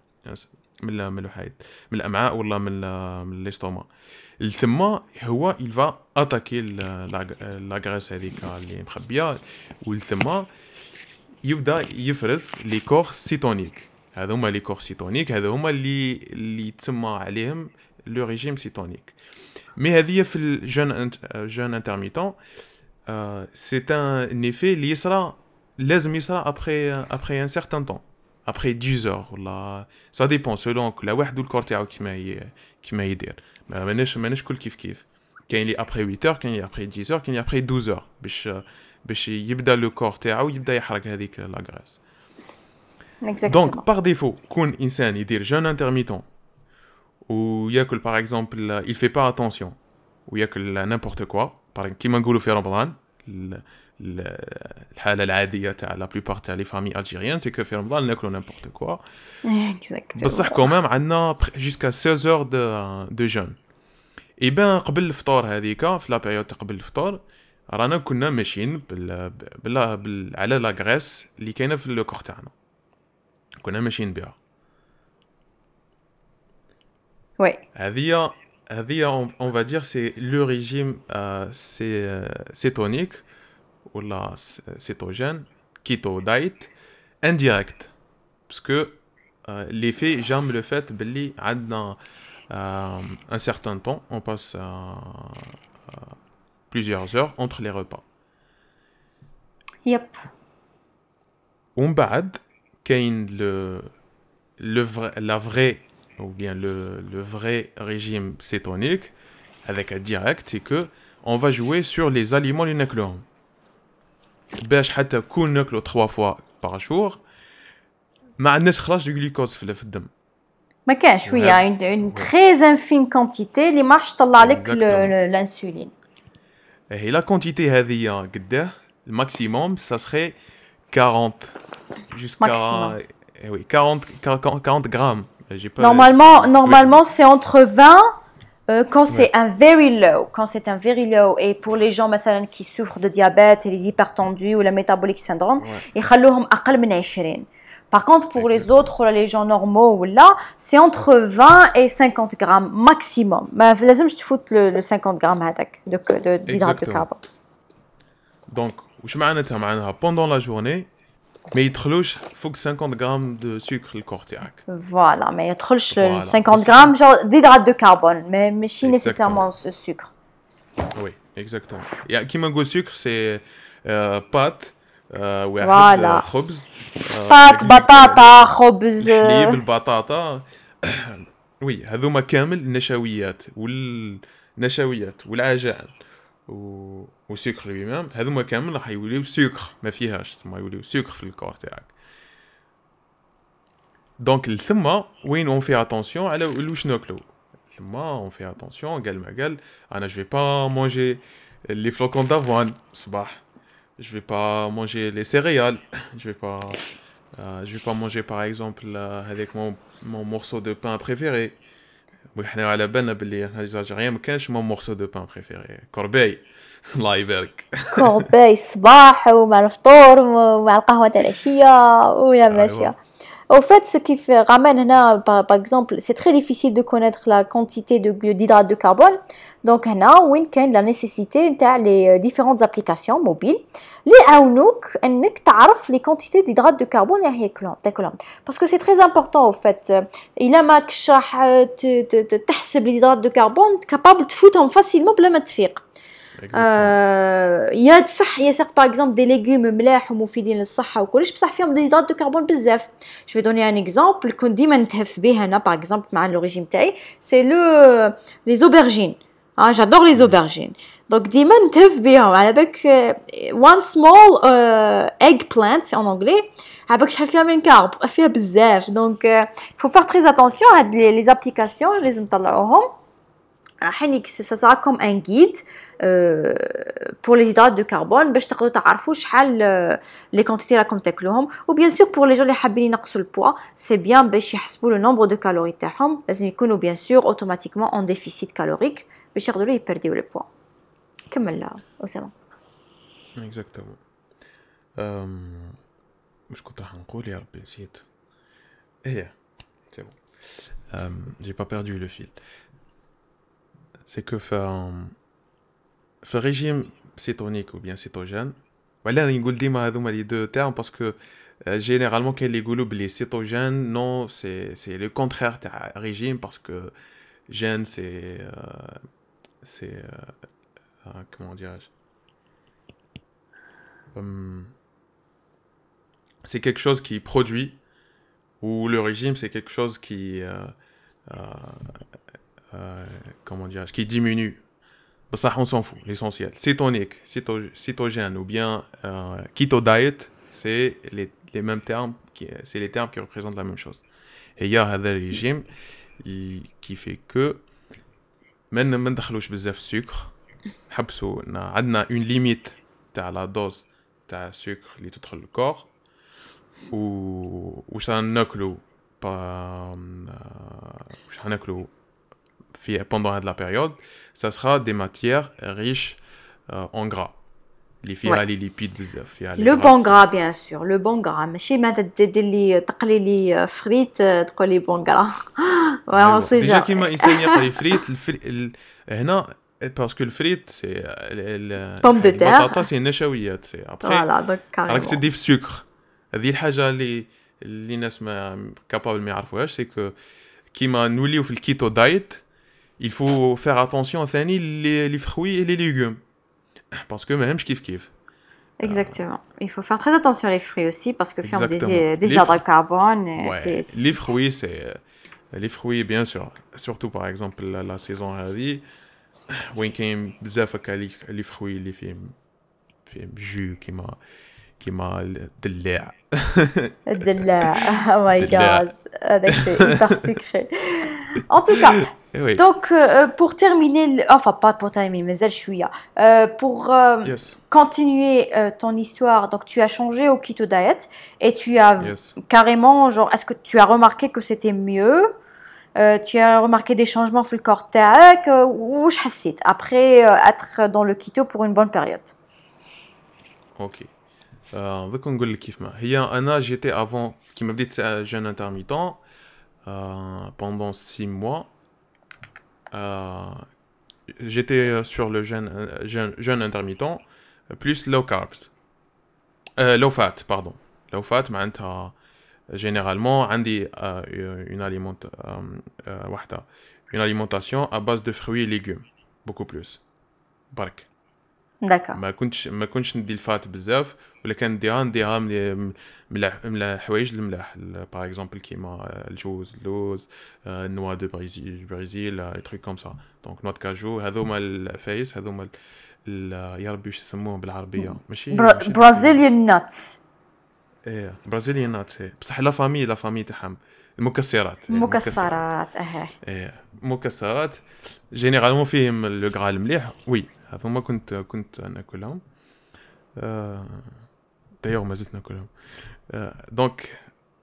من ال- من الوحيد من الامعاء ولا من ال- من الاستوما. ثم هو il va attaquer la graisse هذيك اللي مخبيه والثم يبدا يفرز لي كور سيتونيك. هذا هما لي كور سيتونيك هذا هما اللي اللي تسمى عليهم لو ريجيم سيتونيك. مي هذه في الجون جون انترميتون سي ان ايفي اللي يصرى لازم يصرى ابري ابري ان سيغتان طون ابري dix heures ولا سا ديبون سولون كل واحد والكور تاعو كيما ي... كيما يدير. ما ماناش ماناش كل كيف كيف. كاين اللي ابري huit heures كاين اللي ابري dix heures كاين اللي ابري douze heures باش باش يبدا لو كور تاعو يبدا يحرق هذيك لا غريس. Exactement. دونك باغ ديفو كون انسان يدير جون انترميتون ou ياكل par exemple il fait pas attention وياكل n'importe quoi par كيما نقولوا في رمضان الحالة العادية تاع la plupart تاع les familles algériennes c'est que في رمضان ناكلوا n'importe quoi بصح quand même عندنا jusqu'à seize heures de de jeûne et ben قبل الفطور هذيك في لا بيريود قبل الفطور رانا كنا ماشيين بال بال, بال... على لا غريس اللي كاينه في الكور تاعنا كنا ماشيين بها وي هذه هذه on va dire c'est le régime euh, c'est cétonique ou la cétogène keto diet indirect parce que euh, l'effet j'aime le fait باللي عندنا euh, un certain temps on passe euh, euh, plusieurs heures entre les repas. Yep. ومن بعد كاين le le vrai la vraie ou bien le le vrai régime cétonique avec un direct c'est que on va jouer sur les aliments اللي ناكلوهم باش حتى كون ناكلو trois fois par jour ما عندناش خلاص du glucose في في الدم ما كاين شويه une, une très infime quantité اللي ما راحش تطلع لك الانسولين. Et la quantité هذه قداه الماكسيموم ça serait quarante jusqu'à eh oui quarante quarante grammes. J'ai pas normalement normalement oui. C'est entre vingt euh, quand c'est ouais. un very low quand c'est un very low et pour les gens مثلا qui souffrent de diabète et les hypertendus ou le metabolic syndrome يخلوهم أقل من عشرين. Par contre, pour Exactement. Les autres, les gens normaux, là, c'est entre vingt et cinquante grammes maximum. Mais لازمش تفوت le, le cinquante grammes هذاك de, de, d'hydrate de carbone. Donc, وش معناتها معناها pendant la journée ما يدخلوش فوق cinquante grammes de sucre الكور تاعك. Voilà, mais يدخلش voilà. cinquante grammes genre d'hydrate de carbone, mais ماشي nécessairement ce sucre. Oui, exactement. Et كيما نقول sucre c'est euh, pâte واحد voilà. خبز بات بطاطا خبز حليب البطاطا وي هذوما كامل النشويات والنشويات والعجائن و وسكر بمام هذوما كامل راح يوليو سكر ما فيهاش ما يوليو سكر في الكور تاعك دونك الثما وين اون في اتونسيون على واش ناكلو ثما اون في اتونسيون قال ما قال انا جو في با مونجي لي فلوكون دافوان الصباح je vais pas manger les céréales je vais pas euh, je vais pas manger par exemple euh, avec mon mon morceau de pain préféré وإحنا على بالنا باللي إحنا الجزائريين ما كانش mon morceau de pain préféré كورباي الله يبارك كورباي الصباح ومع الفطور ومع القهوة تاع العشية ويا ماشية. Au fait, ce qui fait ramène هنا par, par exemple, c'est très difficile de connaître la quantité de d'hydrate de carbone. Donc هنا وين كاين la nécessité تاع les différentes applications mobiles اللي يعاونوك انك تعرف les quantités d'hydrate de carbone اللي ياكلهم تاكلهم. Parce que c'est très important au fait. إلا ماكش راح تحسب les hydrates de carbone capable تفوتهم facilement بلا ما تفيق. آه يا صح يا سيغ باغ اكزومبل دي ليغوم ملاح ومفيدين للصحه وكلش بصح فيهم دي هيدرات دو كربون بزاف. جو في دوني ان اكزومبل كنت ديما نتهف به انا باغ اكزومبل مع لو ريجيم تاعي سي لو لي زوبرجين. اه جادور لي زوبرجين دونك ديما نتهف بهم على بالك وان سمول ايغ بلانت سي ان انجلي على بالك شحال فيها من كارب فيها بزاف. دونك فو فار تري اتونسيون هاد لي زابليكاسيون لازم نطلعوهم حينك ça sera comme un guide euh, pour les hydrates de carbone باش تقدروا تعرفوا شحال les quantités راكم تاكلوهم. و bien sûr pour les gens اللي حابين ينقصوا البوا c'est bien باش يحسبوا le nombre de calories تاعهم لازم يكونوا bien sûr automatiquement en déficit calorique باش يقدروا يبرديو le poids. كمل لا أسامة. exactement مش كنت راح نقول يا ربي نسيت ايه c'est bon j'ai pas perdu le fil. C'est que faire le régime cétonique ou bien cétogène voilà on dit ديما هذوما les deux termes parce que euh, généralement quand les يقولوا les cétogènes non c'est c'est le contraire تاع régime parce que gène c'est euh, c'est euh, euh, comment dirais-je um, c'est quelque chose qui produit ou le régime c'est quelque chose qui euh, euh, Euh, comment dire, qui diminue. Ça, on s'en fout, l'essentiel. Cétonique, céto- cétogène ou bien euh, keto diet, c'est les, les mêmes termes, qui, c'est les termes qui représentent la même chose. Et il y a un régime qui fait que ما ما ندخلوش بزاف السكر نحبسوا عندنا اون ليميت تاع لا دوز تاع السكر اللي تدخل الكور و واش ناكلوا با واش ناكلوا في pendant هاد لا période ça sera des matières riches euh, en gras اللي فيها لي ليبيد بزاف فيها لو بون غرا بيان سور لو بون غرا ماشي ما تدير لي تقلي لي فريت تقول لي بون غرا واه سي ديجا كيما انسان يقلي فريت الفري... هنا باسكو الفريت سي بوم دو تير البطاطا سي نشويات سي ابري فوالا دونك راك تدي في السكر هذه الحاجه اللي اللي الناس ما كابابل ما يعرفوهاش سي كو كيما نوليو في الكيتو دايت il faut faire attention ثاني لي لي فروي et les légumes parce que ماهمش كيف كيف. Exactement. Il faut faire très attention les fruits aussi parce que font des des hydrates de carbone. Ouais. Les fruits c'est les fruits bien sûr surtout par exemple la, la saison هذه وين كاين بزاف هكا لي فروي اللي فيهم فيهم جو كيما كيما الدلاع الدلاع oh my god هذاك c'est hyper sucré en tout cas oui. donc euh, pour terminer enfin pas pour terminer mais elle chouïa euh, pour euh, yes. continuer euh, ton histoire donc tu as changé au keto diet et tu as yes. carrément genre est-ce que tu as remarqué que c'était mieux euh, tu as remarqué des changements dans le corps تاعك ou je حسيت après euh, être dans le keto pour une bonne période. OK. Euh, ذاك نقول لك كيف ما هي انا جيتي avant كيما بديت jeûne intermittent euh, pendant six mois euh, j'étais sur le jeûne jeûne, jeûne intermittent plus low carbs euh, low fat pardon low fat معناتها généralement عندي euh, une aliment euh, واحدة une alimentation à base de fruits et légumes beaucoup plus برك d'accord ما كنتش ما كنتش ندي الفات بزاف ولا كان نديها نديها من من الحوايج الملاح باغ اكزومبل كيما الجوز اللوز النوا دو بريزيل بريزيل لي تروك كوم سا دونك نوا دو كاجو هذوما الفايس هذوما يا ربي واش يسموهم بالعربيه ماشي برازيليان ناتس ايه برازيليان ناتس بصح لا فامي لا فامي تاعهم المكسرات المكسرات اه ايه مكسرات جينيرالمون فيهم لو غرا المليح وي هذوما كنت كنت ناكلهم دايوغ ما زلت ناكلهم دونك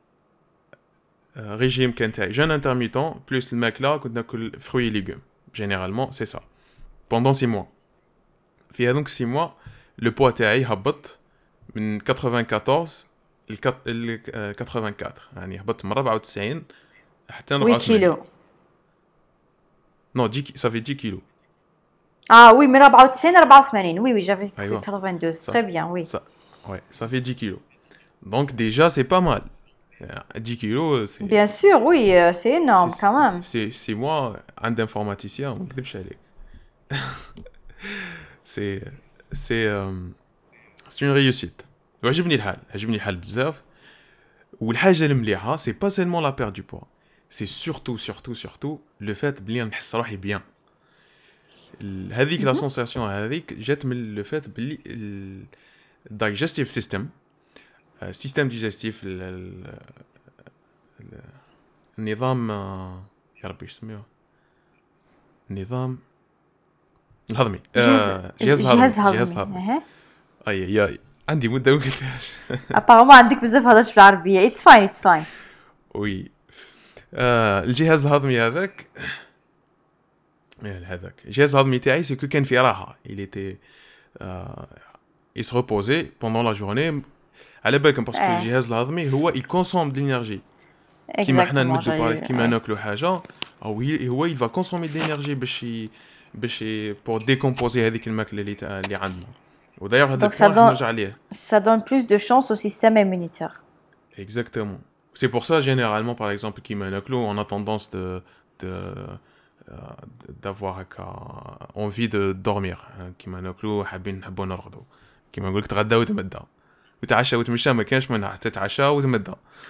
ريجيم كان تاعي جون انترميتون بلس الماكله كنت ناكل فروي ليغوم جينيرالمون سي سا بوندون six mois في هذوك six mois لو بوا تاعي هبط من quatre-vingt-quatorze ل quatre-vingt-quatre يعني هبطت من أربعة وتسعين حتى أربعة وثمانين كيلو نو دي ça fait dix kilos. Ah oui, mais أربعة وتسعين أربعة وثمانين. Oui, oui, j'avais Aïwa. quatre-vingt-douze. Ça, très bien, oui. Ça, ouais, ça fait dix kilos. Donc déjà, c'est pas mal. dix kilos, c'est... Bien sûr, oui, c'est énorme c'est, quand même. C'est, c'est moi, un informaticien, on ne peut pas C'est, c'est, euh, c'est une réussite. وعجبني الحال, عجبني الحال بزاف. والحاجة المليحة, c'est pas seulement la perte du poids. C'est surtout, surtout, surtout le fait بلي نحس روحي bien. هذيك لا سونساسيون هذيك جات من لو فات بلي الدايجستيف سيستم السيستم ديجستيف النظام يا ربي يسميوه النظام الهضمي جهاز هضمي جهاز هضمي اي يا عندي مده ما قلتهاش ابارامون عندك بزاف هضرت بالعربيه اتس فاين اتس فاين وي الجهاز الهضمي هذاك هذاك الجهاز الهضمي تاعي سي كو كان في راحه il était euh, il se reposait pendant la journée على بالكم باسكو الجهاز الهضمي هو il consomme de l'énergie كيما حنا نمدوا بارك كيما ناكلوا حاجه او هو il va consommer de l'énergie باش باش pour décomposer هذيك الماكله اللي اللي عندنا ودايوغ هذاك نرجع عليه ça donne plus de chance au système immunitaire exactement c'est pour ça généralement par exemple كيما ناكلوا on a tendance de de d'avoir envie de dormir كيما ناكلو حابين نحبوا نرقدوا كيما نقول لك تغدى وتمدى وتعشى وتمشى ما كانش منها تتعشى وتمدى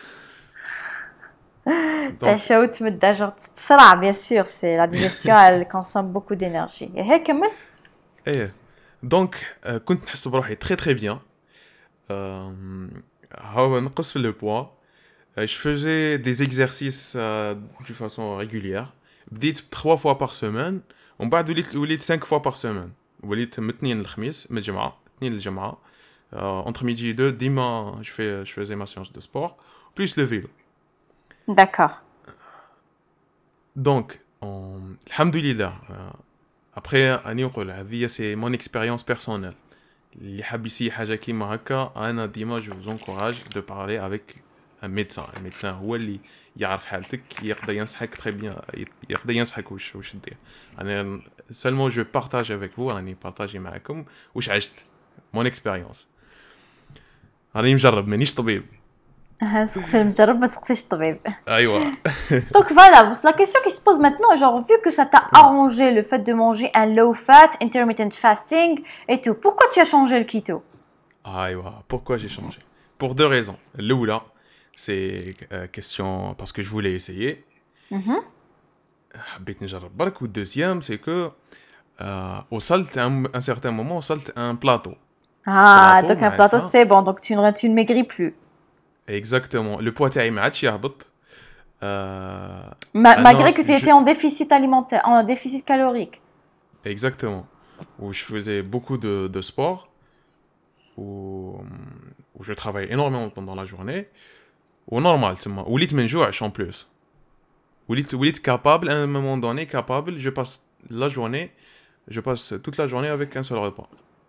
تعشى وتمدى جو تسرع bien sûr c'est la digestion elle consomme beaucoup d'énergie et هيك كمل ايه دونك كنت نحس بروحي تري تري بيان هاو نقص في لو بوا Euh, je faisais des exercices euh, de façon régulière. بديت trois fois par semaine ومن بعد وليت وليت cinq fois par semaine. وليت من الاثنين للخميس من الجمعة اثنين للجمعة. Euh, entre midi et deux, dimanche, je, fais, je faisais ma séance de sport, plus le vélo. D'accord. Donc, on... alhamdoulilah, euh, après, أنا نقول هذه c'est mon expérience personnelle. اللي حاب يسي حاجة كيما هكا أنا ديما je vous encourage de parler avec un médecin. Un médecin هو اللي يعرف حالتك يقدر ينصحك très bien يقدر ينصحك وش وش دير. أنا seulement je partage avec vous أنا partage معكم وش عشت mon expérience. راني مجرب مانيش طبيب. سقسي المجرب ما تسقسيش الطبيب. ايوا. Donc voilà, la question qui se pose maintenant, genre vu que ça t'a arrangé le fait de manger un low fat, intermittent fasting et tout, pourquoi tu as changé le keto? ايوا, pourquoi j'ai changé? Pour deux raisons. الاولى c'est euh, question parce que je voulais essayer. Mhm. حبيت نجرب برك. و deuxième c'est que euh, وصلت à un, un certain moment وصلت à un plateau. Ah, plateau donc un plateau c'est bon, donc tu ne tu ne maigris plus. Exactement. Le poids تاعي ما عادش يهبط. Euh, Ma- malgré que tu je... étais en déficit alimentaire, en déficit calorique. Exactement. Où je faisais beaucoup de, de sport, où, où je travaillais énormément pendant la journée. Ou normal, c'est moi. Ou lit menjouach en plus. Ou lit, ou lit capable, à un moment donné, capable, je passe la journée, je passe toute la journée avec un seul repas.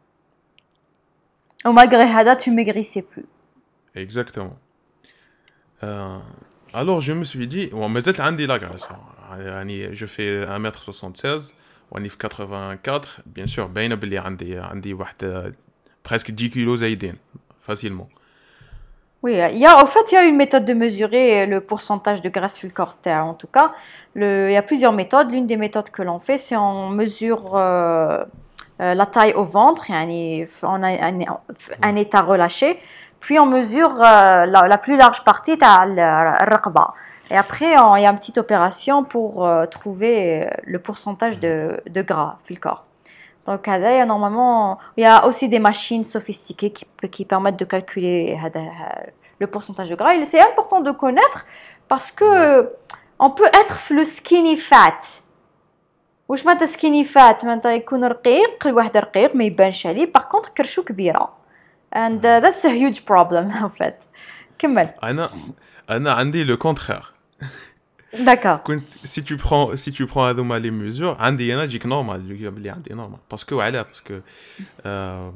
Ou malgré Hada, tu maigrissais plus. Exactement. Euh, alors je me suis dit, bon, mais c'est un la graisse. Je fais un mètre soixante-seize, on est quatre-vingt-quatre, bien sûr, bien بلي عندي عندي واحد presque dix kilos زايدين facilement. Oui, il y a, en fait, il y a une méthode de mesurer le pourcentage de graisse sur le corps. En tout cas, le, il y a plusieurs méthodes. L'une des méthodes que l'on fait, c'est on mesure euh, euh, la taille au ventre, yani, on a un, un état relâché, puis on mesure euh, la, la plus large partie de la raqba. Et après, on, il y a une petite opération pour euh, trouver le pourcentage de, de gras sur le corps. Donc, il y a normalement, il y a aussi des machines sophistiquées qui, qui permettent de calculer le pourcentage de gras. Et c'est important de connaître parce que on peut être le skinny fat. واش معناتها skinny fat معناتها يكون رقيق الواحد رقيق ما يبانش عليه par contre كرشو كبيرة and uh, that's a huge problem en fait. كمل. أنا أنا عندي le contraire. D'accord. كنت si tu prends si tu prends هذوما les mesures عندي أنا جيك normal اللي عندي normal parce que وعلاه parce que euh,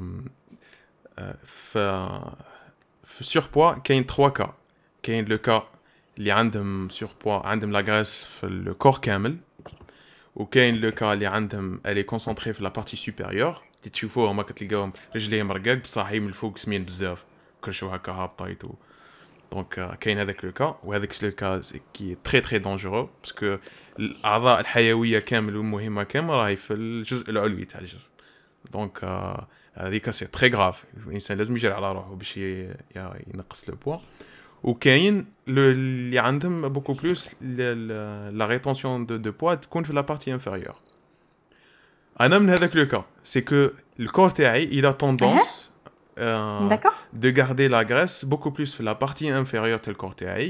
في في surpoids كاين trois cas. كاين le cas اللي عندهم surpoids عندهم la graisse في le corps كامل. وكاين le cas اللي عندهم elle est concentrée في la partie supérieure. اللي تشوفوهم هما كتلقاهم رجليهم رقاق بصح من الفوق سمين بزاف كرشو هكا هابطه يتو. دونك كاين هذاك لو كا وهذاك لو كا كي تري تري دونجورو باسكو الاعضاء الحيويه كامل والمهمه كامل راهي في الجزء العلوي تاع الجسم. دونك هذيك سي تري غراف. الانسان لازم يجري على روحه باش ينقص لو بوا. وكاين اللي عندهم بوكو بلوس لا ريتونسيون دو دو بوا تكون في لا بارتي انفيريور. انا من هذاك لو كا سي كو الكور تاعي il a tendance Euh, de garder la graisse beaucoup plus sur la partie inférieure tel corps تاعي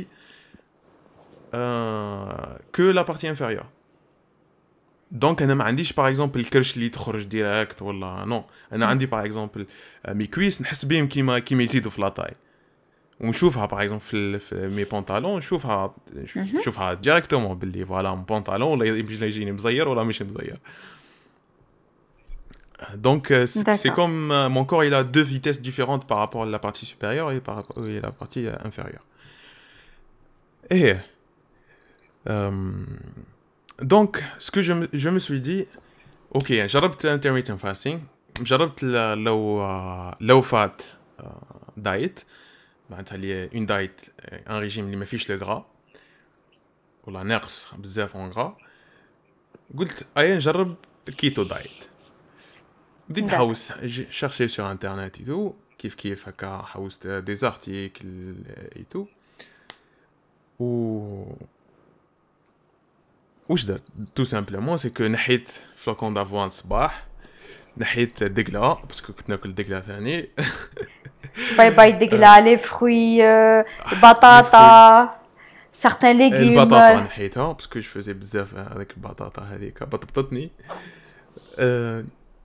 euh, que la partie inférieure. Donc انا ما عنديش par exemple الكرش اللي تخرج ديريكت ولا نو. انا عندي par exemple مي كويس نحس بهم كيما كيما يزيدوا في لاطاي ونشوفها par exemple في, في مي بونطالون نشوفها نشوفها ديريكتومون باللي فوالا مون بونطالون ولا يجيني مزير ولا مش مزير. Donc euh, c'est, c'est comme euh, mon corps il a deux vitesses différentes par rapport à la partie supérieure et par rapport à la partie euh, inférieure. Et euh, donc ce que je me, je me suis dit ok جربت intermittent fasting جربت low uh, low fat uh, diet معناتها اللي une diet un régime اللي ما فيش le gras ولا ناقص بزاف en gras. قلت اي نجرب keto diet. بديت نحوس chercher sur internet et tout كيف كيف هكا حوست des articles et tout و واش درت tout simplement c'est que نحيت flocon d'avoine الصباح نحيت دقلة باسكو كنت ناكل دقلة ثاني باي باي دقلا لي فروي بطاطا certains légumes البطاطا نحيتها باسكو جو فوزي بزاف هذيك البطاطا هذيك بطبطتني. أه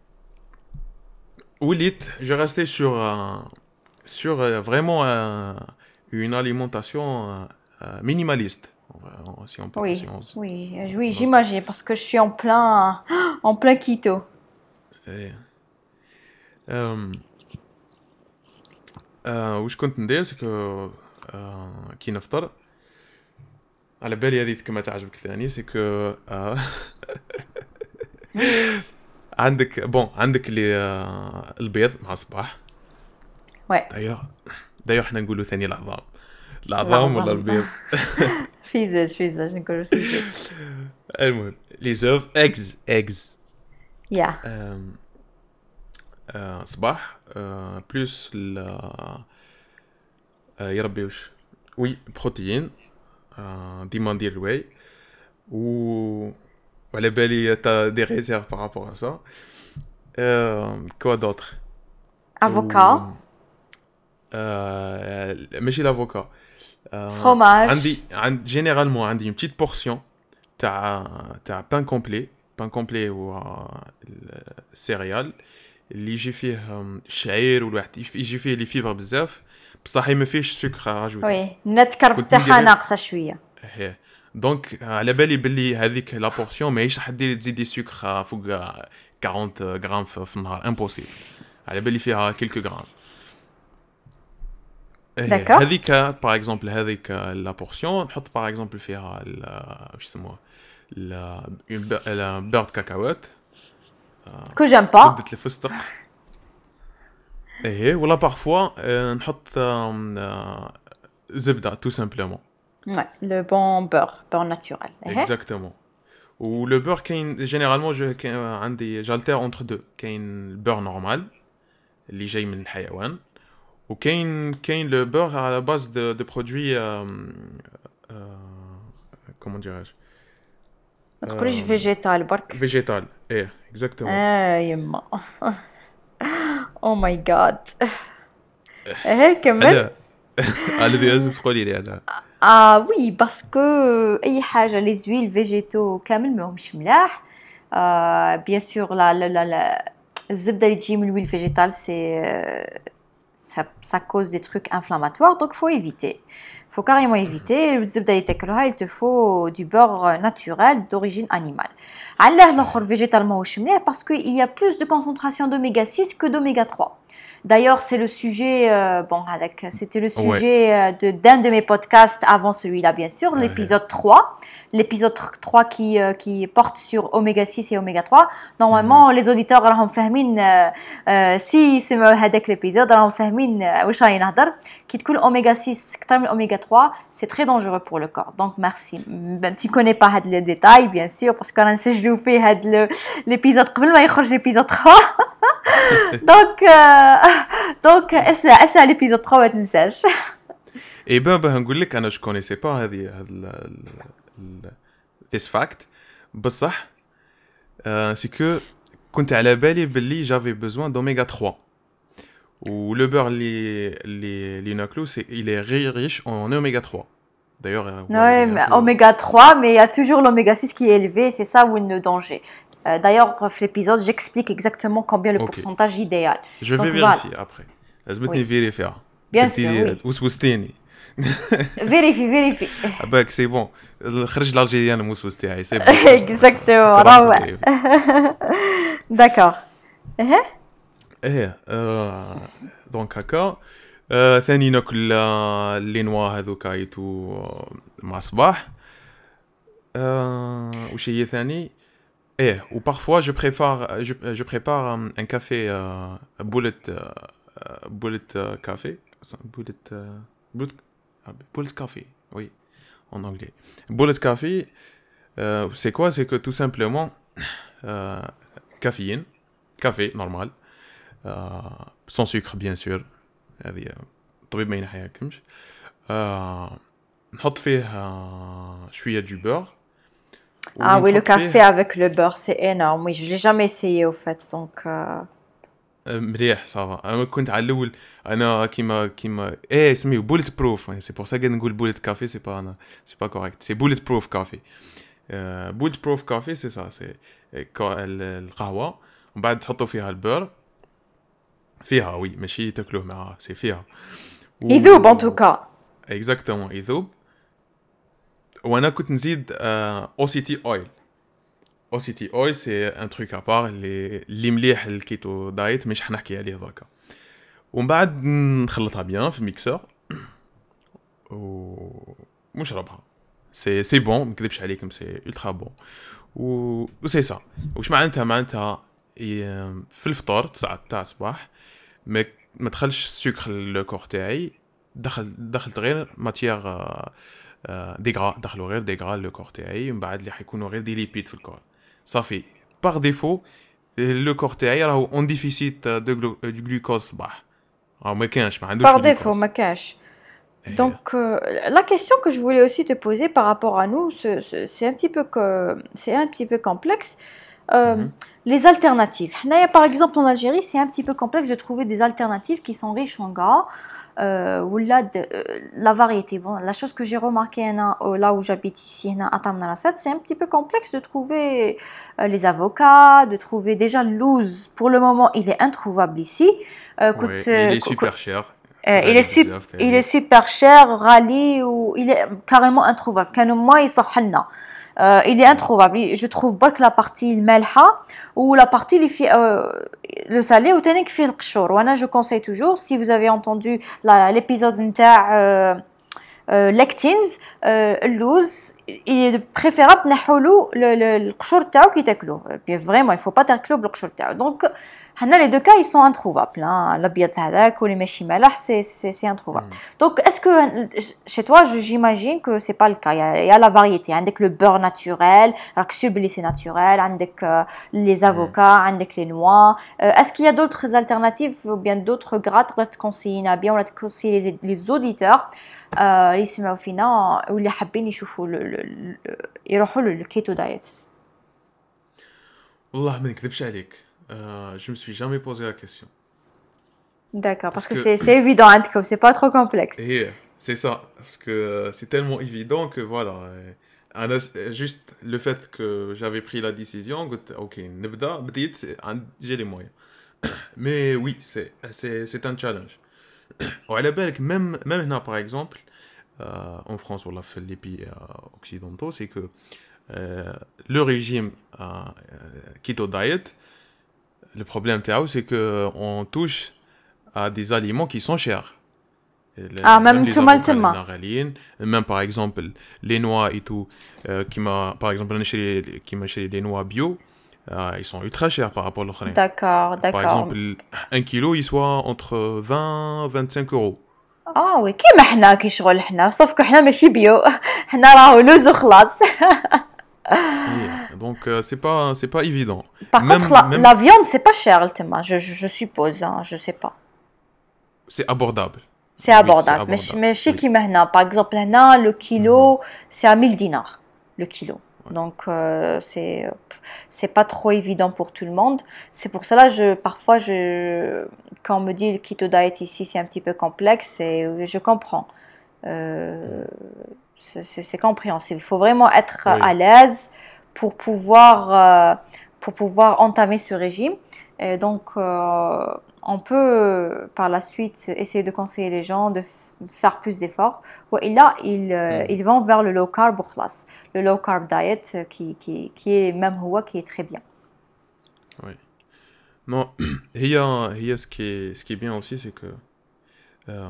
وليت جو ريستي سور سور فريمون une alimentation euh, minimaliste si on peut. Oui, si on, oui, oui, j'imagine parce que je suis en plein en plein keto. ايه أم أه واش كنت ندير سكو أه كي نفطر على بالي هذه كما تعجبك ثاني سكو أه عندك بون عندك اللي أه البيض مع الصباح. Ouais. دايوغ دايوغ حنا نقولوا ثاني العظام العظام ولا البيض. فيزاج فيزاج نقولوا فيزاج. المهم لي زوف اكز اكز يا صباح بلوس ل يربي وش وي بروتين ديما ندير الواي و وعلى بالي تا دي ريزيرف بارابور ا سا. كوا دوطر افوكا ماشي لافوكا فروماج عندي عند جينيرالمون عندي une petite portion تاع تاع بان كومبلي. بان كومبلي هو السيريال اللي يجي فيه الشعير والواحد يجي فيه لي فيبر بزاف بصح ما فيهش سكر راجوتي. وي النت كرب تاعها ناقصه شويه. ايه دونك على بالي بلي هذيك لا بورسيون ماهيش راح دير تزيدي سكر فوق أربعين غرام في النهار امبوسيبل. على بالي فيها كيلكو غرام. داكور هذيك باغ اكزومبل هذيك لا بورسيون نحط باغ اكزومبل فيها واش يسموها لا بيرد كاكاوات كو جام با زبدة الفستق. ايه ولا بارفوا نحط زبده تو سامبلومون. Ouais, le bon beurre, beurre naturel. Exactement. Ou le beurre كاين généralement je عندي j'altère entre deux. كاين البور نورمال اللي جاي من الحيوان وكاين كاين le beurre à la base de de produits euh, euh, comment dirais-je ما تقوليش فيجيتال برك. فيجيتال ايه exactement. اه يما او ماي جاد. ايه كمل. على ذي لازم تقولي لي انا. اه وي باسكو اي حاجه لي زويل فيجيتو كامل ماهمش ملاح. آه بيان سور لا لا لا الزبده اللي تجي من الويل فيجيتال سي ça ça cause des trucs inflammatoires donc faut éviter. Faut carrément éviter. الزبده اللي تاكلها il te faut du beurre naturel d'origine animale. علاه الاخر فيجيتال ماهوش مليح parce que il y a plus de concentration d'oméga six que d'oméga trois. D'ailleurs, c'est le sujet, euh, bon, avec, c'était le sujet ouais. de, d'un de mes podcasts avant celui-là, bien sûr, ouais. l'épisode trois. L'épisode trois qui, euh, qui porte sur oméga six et oméga trois. Normalement, mm-hmm. les auditeurs, راهم فاهمين, euh, si c'est هذاك l'épisode, راهم فاهمين واش راني نهضر. كي تكون oméga six أكثر من oméga trois, c'est très dangereux pour le corps. Donc, merci. Ben, tu connais pas هاد les détails, bien sûr, parce qu'on a نسجلوا فيه هاد l'épisode قبل ما يخرج l'épisode trois. donc euh, donc اسمع اسمع l'épisode trois ما تنساش. اي بان باه نقول لك انا جو كونيسي با هذه this fact بصح سي كو كنت على بالي باللي جافي بيزوان دوميغا trois و لو بور اللي اللي اللي ناكلو سي il est riche en oméga trois d'ailleurs. Oui, mais oméga trois mais il y a toujours l'oméga six qui est élevé, c'est ça où le danger. Euh, d'ailleurs, dans l'épisode, j'explique exactement combien le okay. pourcentage idéal. Je vais Donc, vérifier voilà. après. Laisse-moi oui. vérifier. Bien sûr, oui. وسوستيني. Vérifie, vérifie. Ah bah c'est bon. خرج l'Algérien موسوستي c'est bon. Exactement. روعة. D'accord. ايه ايه دونك هكا ثاني ناكل لي نوا هذوك ايتو مع صباح. وش هي ثاني Eh, ou parfois je prépare, je, je prépare un, un café, euh, un bullet, euh, bullet euh, café, bullet, euh, bullet, bullet café, oui, en anglais. Bullet café, euh, c'est quoi? C'est que tout simplement, euh, caféine, café normal, euh, sans sucre bien sûr. هذه طبيب ما ينحيكمش. نحط فيه شوية du beurre. Ah oui, le café avec le beurre, c'est énorme. Oui, je l'ai jamais essayé au fait, donc. Euh... مليح صافا. انا كنت على الاول انا كيما كيما ايه سميو بوليت بروف، سي بور سا نقول بوليت كافي، سي با انا سي با كوريكت، سي بوليت بروف كافي. بوليت بروف كافي سي سا، سي القهوه ومن بعد تحطوا فيها البر فيها، وي ماشي تاكلوه معها، سي فيها يذوب ان توكا. اكزاكتومون يذوب. وانا كنت نزيد او سي تي اويل. او سي تي اويل سي ان تروك ابار اللي اللي مليح الكيتو دايت، مش حنحكي عليه دركا. ومن بعد نخلطها بيان في الميكسور ونشربها. سي سي بون، ما نكذبش عليكم، سي الترا بون. و سي سا. واش معناتها؟ معناتها في الفطور تسعة تاع الصباح ما ما تدخلش السكر للكور تاعي، دخل دخلت غير ماتيير ديغرا، دخلوا غير ديغرا للكور تاعي، ومن بعد اللي حيكونوا غير دي ليبيد في الكور صافي. باغ ديفو لو كور تاعي راهو اون ديفيسيت دو غلوكوز الصباح، راه ما كانش، ما عندوش Par défaut, glucose. ma cache. Donc, euh, la question que je voulais aussi te poser par rapport à nous, c'est, c'est- c'est un petit peu que, c'est un petit peu complexe. Euh, Mhm. Les alternatives. Hnaya, par exemple, en Algérie, c'est un petit peu complexe de trouver des alternatives qui sont riches en gras. Euh, ou là, de, euh, la variété. Bon, la chose que j'ai remarqué hein, euh, là où j'habite ici, hein, à Tamnarassat, c'est un petit peu complexe de trouver euh, les avocats, de trouver déjà le loose. Pour le moment, il est introuvable ici. Euh, Ouais, coûte, il euh, est co- super cher. euh, il, غالي est sup- بزاف il ثاني. est super cher, rallye, ou il est carrément introuvable. كانوا ما يصحلنا. Euh, il est introuvable. Je trouve pas que la partie malha ou la partie اللي في euh, le salé ou تانيك فيه القشور. وانا je conseille toujours, si vous avez entendu la, l'épisode نتاع euh, euh, lectins, euh, اللوز il est préférable نحولو القشور تاعو كي تاكلوه. Puis vraiment il faut pas تاكلوه بالقشور تاعو. Donc هنا les deux cas ils sont introuvables, hein. الابيض هذاك واللي ماشي مالح c'est c'est c'est introuvable. Donc est-ce que chez toi je- j'imagine que c'est pas le cas. Il y a, il y a la variété. عندك le beurre naturel, راك sûr بلي c'est naturel. عندك euh, les avocats, عندك les noix. Euh, est-ce qu'il y a d'autres alternatives ou bien d'autres gras تقدر تكونسيينا bien ولا تكونسيي les, les auditeurs euh, اللي يسمعوا فينا واللي حابين يشوفوا ل- ل- ل- يروحوا للكيتو دايت. والله ما نكذبش عليك، euh, je me suis jamais posé la question. D'accord, parce Parce que que c'est c'est évident عندكم, c'est pas trop complexe. et c'est ça, parce que euh, c'est tellement évident que voilà. euh, أنا juste le fait que j'avais pris la décision, قلت ok نبدا بديت عند- j'ai les moyens. Mais oui, c'est c'est c'est un challenge. وعلى بالك même même هنا par exemple euh, en France ولا في les pays euh, occidentaux, c'est que euh, le régime euh, euh, keto diet, le problème تاعو c'est que on touche à des aliments qui sont chers. Et le- Ah, même les tout mal avocats tellement. هنا غاليين. Même par exemple les noix et tout, euh, كيما par exemple انا نشري كيما نشري les noix bio, euh, ils sont ultra chers par rapport aux autres. D'accord, Par d'accord. exemple, un kilo, il soit entre vingt vingt-cinq euros. اه وي كيما حنا كي شغل حنا sauf que حنا ماشي بيو حنا راهو لوز وخلاص. Et donc, euh, c'est pas, c'est pas évident. Par Même, contre la, même, la viande c'est pas cher التما, je, je, je suppose, hein, je sais pas. c'est abordable. C'est Oui, abordable. c'est ماشي abordable. ماشي Oui. كيما هنا. Par exemple هنا le kilo c'est à mille dinars le kilo. Donc euh, c'est c'est pas trop évident pour tout le monde. C'est pour cela je parfois je quand on me dit le keto diet ici c'est un petit peu complexe et je comprends. Euh, c'est, c'est, c'est compréhensible. Il faut vraiment être Oui. à l'aise pour pouvoir euh, pour pouvoir entamer ce régime. Et donc euh, on peut par la suite essayer de conseiller les gens de f- faire plus d'efforts. Et là, ils, euh, Mm. ils vont vers le low carb ou khlas. Le low carb diet euh, qui, qui, qui est même هو, qui est très bien. Oui. Non, il y a, il y a ce qui est, ce qui est bien aussi, c'est que euh,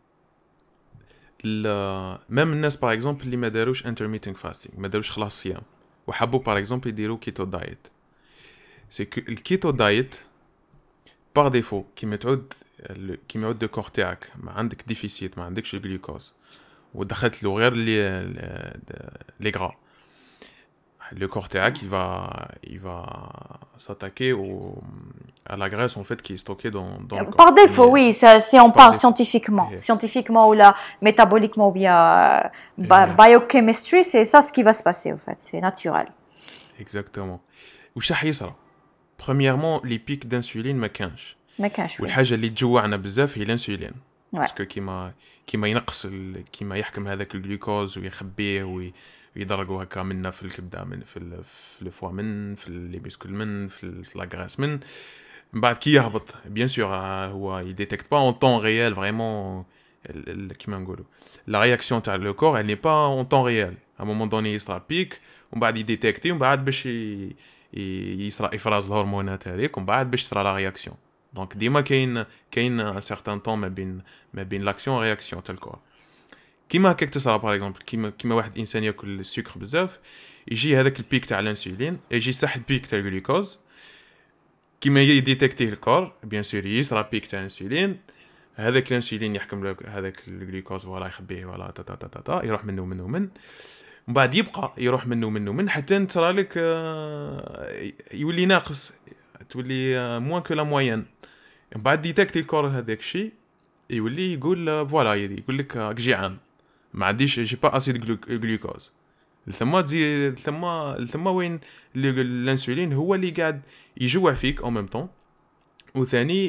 la- même الناس par exemple اللي ما داروش intermittent fasting, ما داروش خلاص صيام وحبوا par exemple يديروا keto diet, c'est que le keto diet par défaut كيما تعود ال- كيما يعود الكور تاعك ما عندك ديفيسيت، ما عندكش الجلوكوز ودخلت له غير لي لي غرا، le corps تاعك il va il va s'attaquer au à la graisse en fait qui est stockée dans dans le corps. Par défaut, Mais- oui, ça, si on Par parle défaut. scientifiquement, Yeah. scientifiquement ou là, métaboliquement ou bien euh, bi- Yeah. biochemistry, c'est ça ce qui va se passer en fait, c'est naturel. Exactement. وش راح يصرى؟ Premièrement, les pics d'insuline ما كانش. ما كانش وين. والحاجه اللي تجوعنا بزاف هي الانسولين Ouais. باسكو كيما كيما ينقص ال... كيما يحكم هذاك الجلوكوز ويخبيه وي... ويدرجوا هكا منا في الكبده من في ال... في الفوا من في لي بيسكول من في لاغراس من من بعد كي يهبط بيان سور هو يديتكت با اون طون ريال فريمون كيما نقولوا لا رياكسيون تاع لو كور elle n'est pas en temps réel à un moment donné يصرى بيك ومن بعد يديتكتي ومن بعد باش ي... يصرى افراز الهرمونات هذيك ومن بعد باش تصرى لا رياكسيون دونك ديما كاين كاين ان سيغتان طون ما بين ما بين لاكسيون رياكسيون تاع الكور كيما هكاك تصرى باغ اكزومبل كيما كيما واحد انسان ياكل السكر بزاف يجي هذاك البيك تاع الانسولين يجي يصح البيك تاع الجلوكوز كيما يديتكتيه الكور بيان سور يصرى بيك تاع الانسولين هذاك الانسولين يحكم له هذاك الجلوكوز ولا يخبيه ولا تا تا تا تا يروح منه منه من ومن بعد يبقى يروح منه منه من حتى تصرى لك يولي ناقص تولي موان كو لا موين من بعد ديتكتي الكور هذاك الشيء يولي يقول فوالا يقول لك راك جيعان ما عنديش جي با اسيد جلوكوز ثم تزيد ثم ثم وين الانسولين هو اللي قاعد يجوع فيك او ميم طون وثاني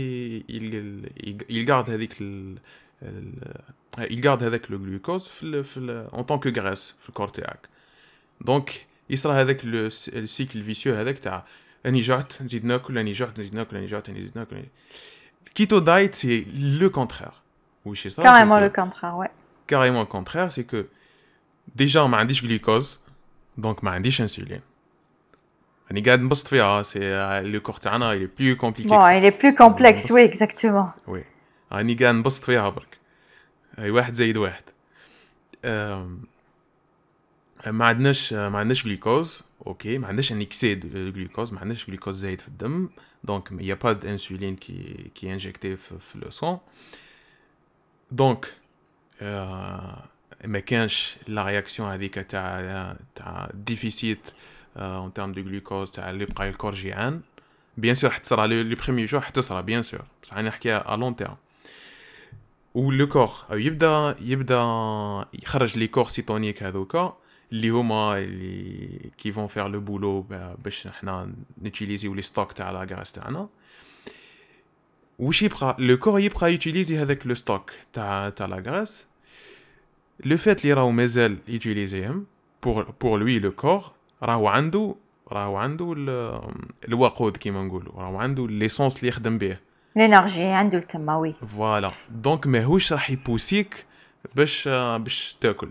يلقارد هذيك يلقارد هذاك لو جلوكوز في في اون طون كو غريس في الكور تاعك دونك يصرى هذاك السيكل فيسيو هذاك تاع اني جعت نزيد ناكل اني جعت نزيد ناكل اني جعت نزيد ناكل كيتو دايت سي لو كونترير وش صار كاريمون لو كونترير وي كاريمون كونترير سي كو ديجا ما عنديش جلوكوز دونك ما عنديش انسولين راني قاعد نبسط فيها سي لو كور تاعنا il est plus compliqué bon il est plus complexe oui exactement وي راني قاعد نبسط فيها برك اي واحد زائد واحد ما عندناش ما عندناش جلوكوز اوكي ما عندناش ان اكسيد جلوكوز ما عندناش جلوكوز زايد في الدم دونك il y a pas d'insuline qui qui est injecté في, في le sang دونك ما كانش لا رياكسيون هذيك تاع تاع ديفيسيت en termes de glucose تاع اللي بقى الكور جيعان بيان سور حتصرى لي بريميي جور حتصرى بيان سور بصح انا نحكيها ا لون تيرم و لو كور يبدا يبدا يخرج لي كور سيتونيك هذوكا اللي هما اللي كي فون فير لو بولو باش حنا نوتيليزيو لي ستوك تاع لا غراس تاعنا واش يبقى لو كور يبقى يوتيليزي هذاك لو ستوك تاع تاع لا غراس لو فات لي راهو مازال يوتيليزيهم بور بور لوي لو كور راهو عنده راهو عنده الوقود كيما نقولوا راهو عنده ليسونس اللي يخدم به لينيرجي عنده التموي فوالا دونك ماهوش راح يبوسيك باش باش تاكل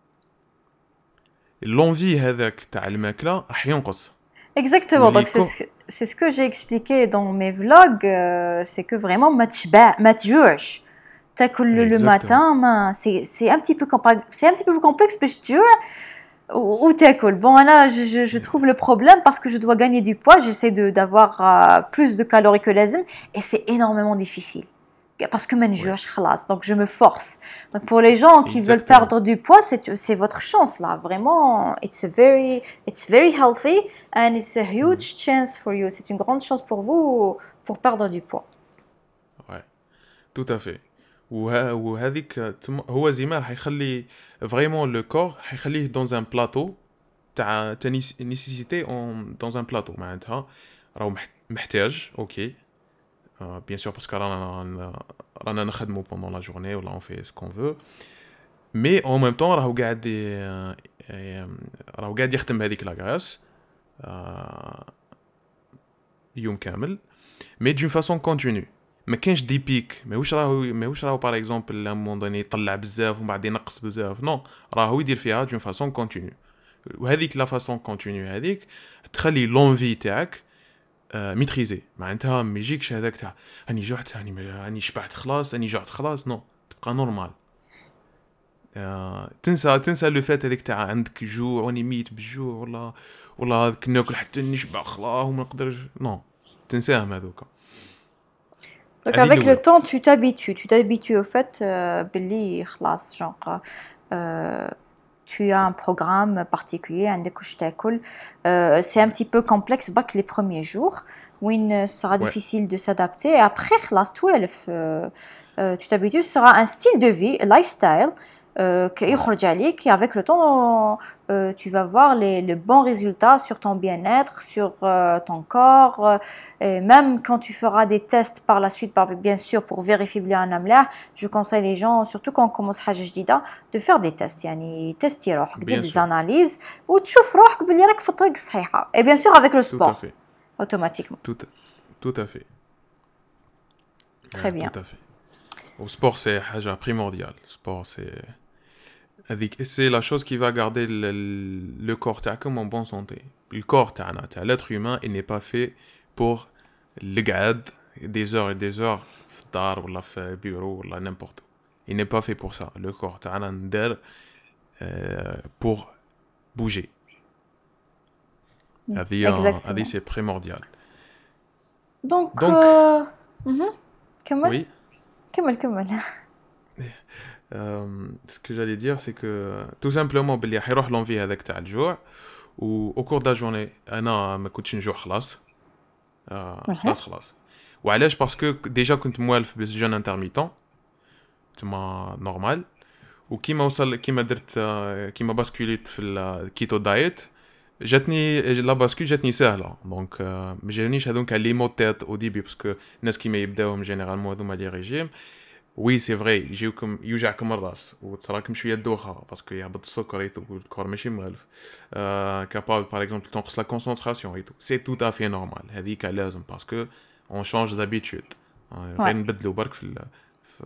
لونفي هذاك تاع الماكله راح ينقص exactement donc c'est c'est ce que j'ai expliqué dans mes vlogs euh, c'est que vraiment ما تشبع ما تجوعش تاكل le matin ما c'est c'est un petit peu c'est un petit peu plus complexe باش تجوع ou t'écoule. Bon, là, je, je, je trouve le problème parce que je dois gagner du poids. J'essaie de, d'avoir euh, plus de calories que l'azim et c'est énormément difficile. Parce que maintenant, je suis donc je me force. Donc, pour les gens qui Exactement. veulent perdre du poids, c'est, c'est votre chance, là. Vraiment, it's a very, it's very healthy and it's a huge mm. chance for you. C'est une grande chance pour vous pour perdre du poids. Ouais, tout à fait. وهذيك هو زيما راح يخلي فريمون لو كور راح يخليه دون ان بلاطو تاع نيسيسيتي اون دون ان بلاطو معناتها راهو محتاج اوكي بيان سور باسكو رانا رانا نخدمو بوندون لا جورني ولا اون في سكون فو مي اون ميم طون راهو قاعد راهو قاعد يخدم هذيك لا غراس يوم كامل مي دون فاسون كونتينيو ما كانش دي بيك ماهوش راهو ماهوش راهو باغ اكزومبل لا مون يطلع بزاف ومن بعد ينقص بزاف نو راهو يدير فيها دون فاسون كونتينيو وهذيك لا فاسون كونتينيو هذيك تخلي لونفي تاعك آه ميتريزي معناتها ما يجيكش هذاك تاع راني جوعت راني راني شبعت خلاص راني جوعت خلاص نو تبقى نورمال آه تنسى تنسى لو فات هذيك تاع عندك جوع وني ميت بالجوع ولا ولا هذاك ناكل حتى نشبع خلاص وما نقدرش نو تنساهم هذوك. Donc avec le temps, tu t'habitues, tu t'habitues au fait, euh, Billy, khlas, genre, euh, tu as un programme particulier, un découche-t'école. Euh, c'est un petit peu complexe, bac les premiers jours, où il sera ouais. difficile de s'adapter. Et après, khlas, twelve, euh, euh, tu t'habitues, ce sera un style de vie, un lifestyle. euh, كيخرج عليك, et avec le temps euh, tu vas voir les, les bons résultats sur ton bien-être, sur euh, ton corps, euh, et même quand tu feras des tests par la suite, par, bien sûr pour vérifier بلي انا ملاح, je conseille les gens surtout quand on commence حاجه جديده de faire des tests, يعني تستي روحك, دير Bien des sûr, analyses وتشوف روحك بلي راك في الطريق الصحيحه, et bien sûr avec le tout à sport fait, automatiquement. tout, tout à fait, Très ouais, bien. tout à fait. Au sport, c'est حاجة primordiale. Sport, c'est هذيك- c'est la chose qui va garder le, le corps تاعكم en bonne santé. Le corps تاعنا, تاع l'être humain, il n'est pas fait pour القعاد des heures et des heures في الدار ولا في bureau ولا n'importe où. Il n'est pas fait pour ça. Le corps تاعنا ندير euh, pour bouger. هذه هذه Exactement. c'est primordial. Donc Donc, euh... mhm. كمل oui, كمل كمل. euh, ce que j'allais dire, c'est que tout simplement, بلي حيروح l'envie هذاك تاع الجوع, و au cours de la journée, أنا ما كنتش نجوع خلاص. آه Mhm. خلاص خلاص. وعلاش؟ باسكو ديجا كنت موالف بالجون انترميتون تما نورمال, وكيما وصل كيما درت آه، كيما باسكوليت في الكيتو دايت, جاتني لا باسكول جاتني سهله. دونك آه، ما جانيش هذوك لي مو تيت او ديبي, باسكو الناس كيما يبداوهم جينيرالمون هذوما لي ريجيم, وي سي فري يجيوكم يوجعكم الراس وتصراكم شويه دوخه باسكو يهبط السكر ايتو والكور ماشي مغلف, آه كابابل باغ اكزومبل تنقص لا كونسونطراسيون ايتو, سي تو افي نورمال, هذيك لازم باسكو اون شونج دابيتود, غير Ouais. نبدلو برك في ال- في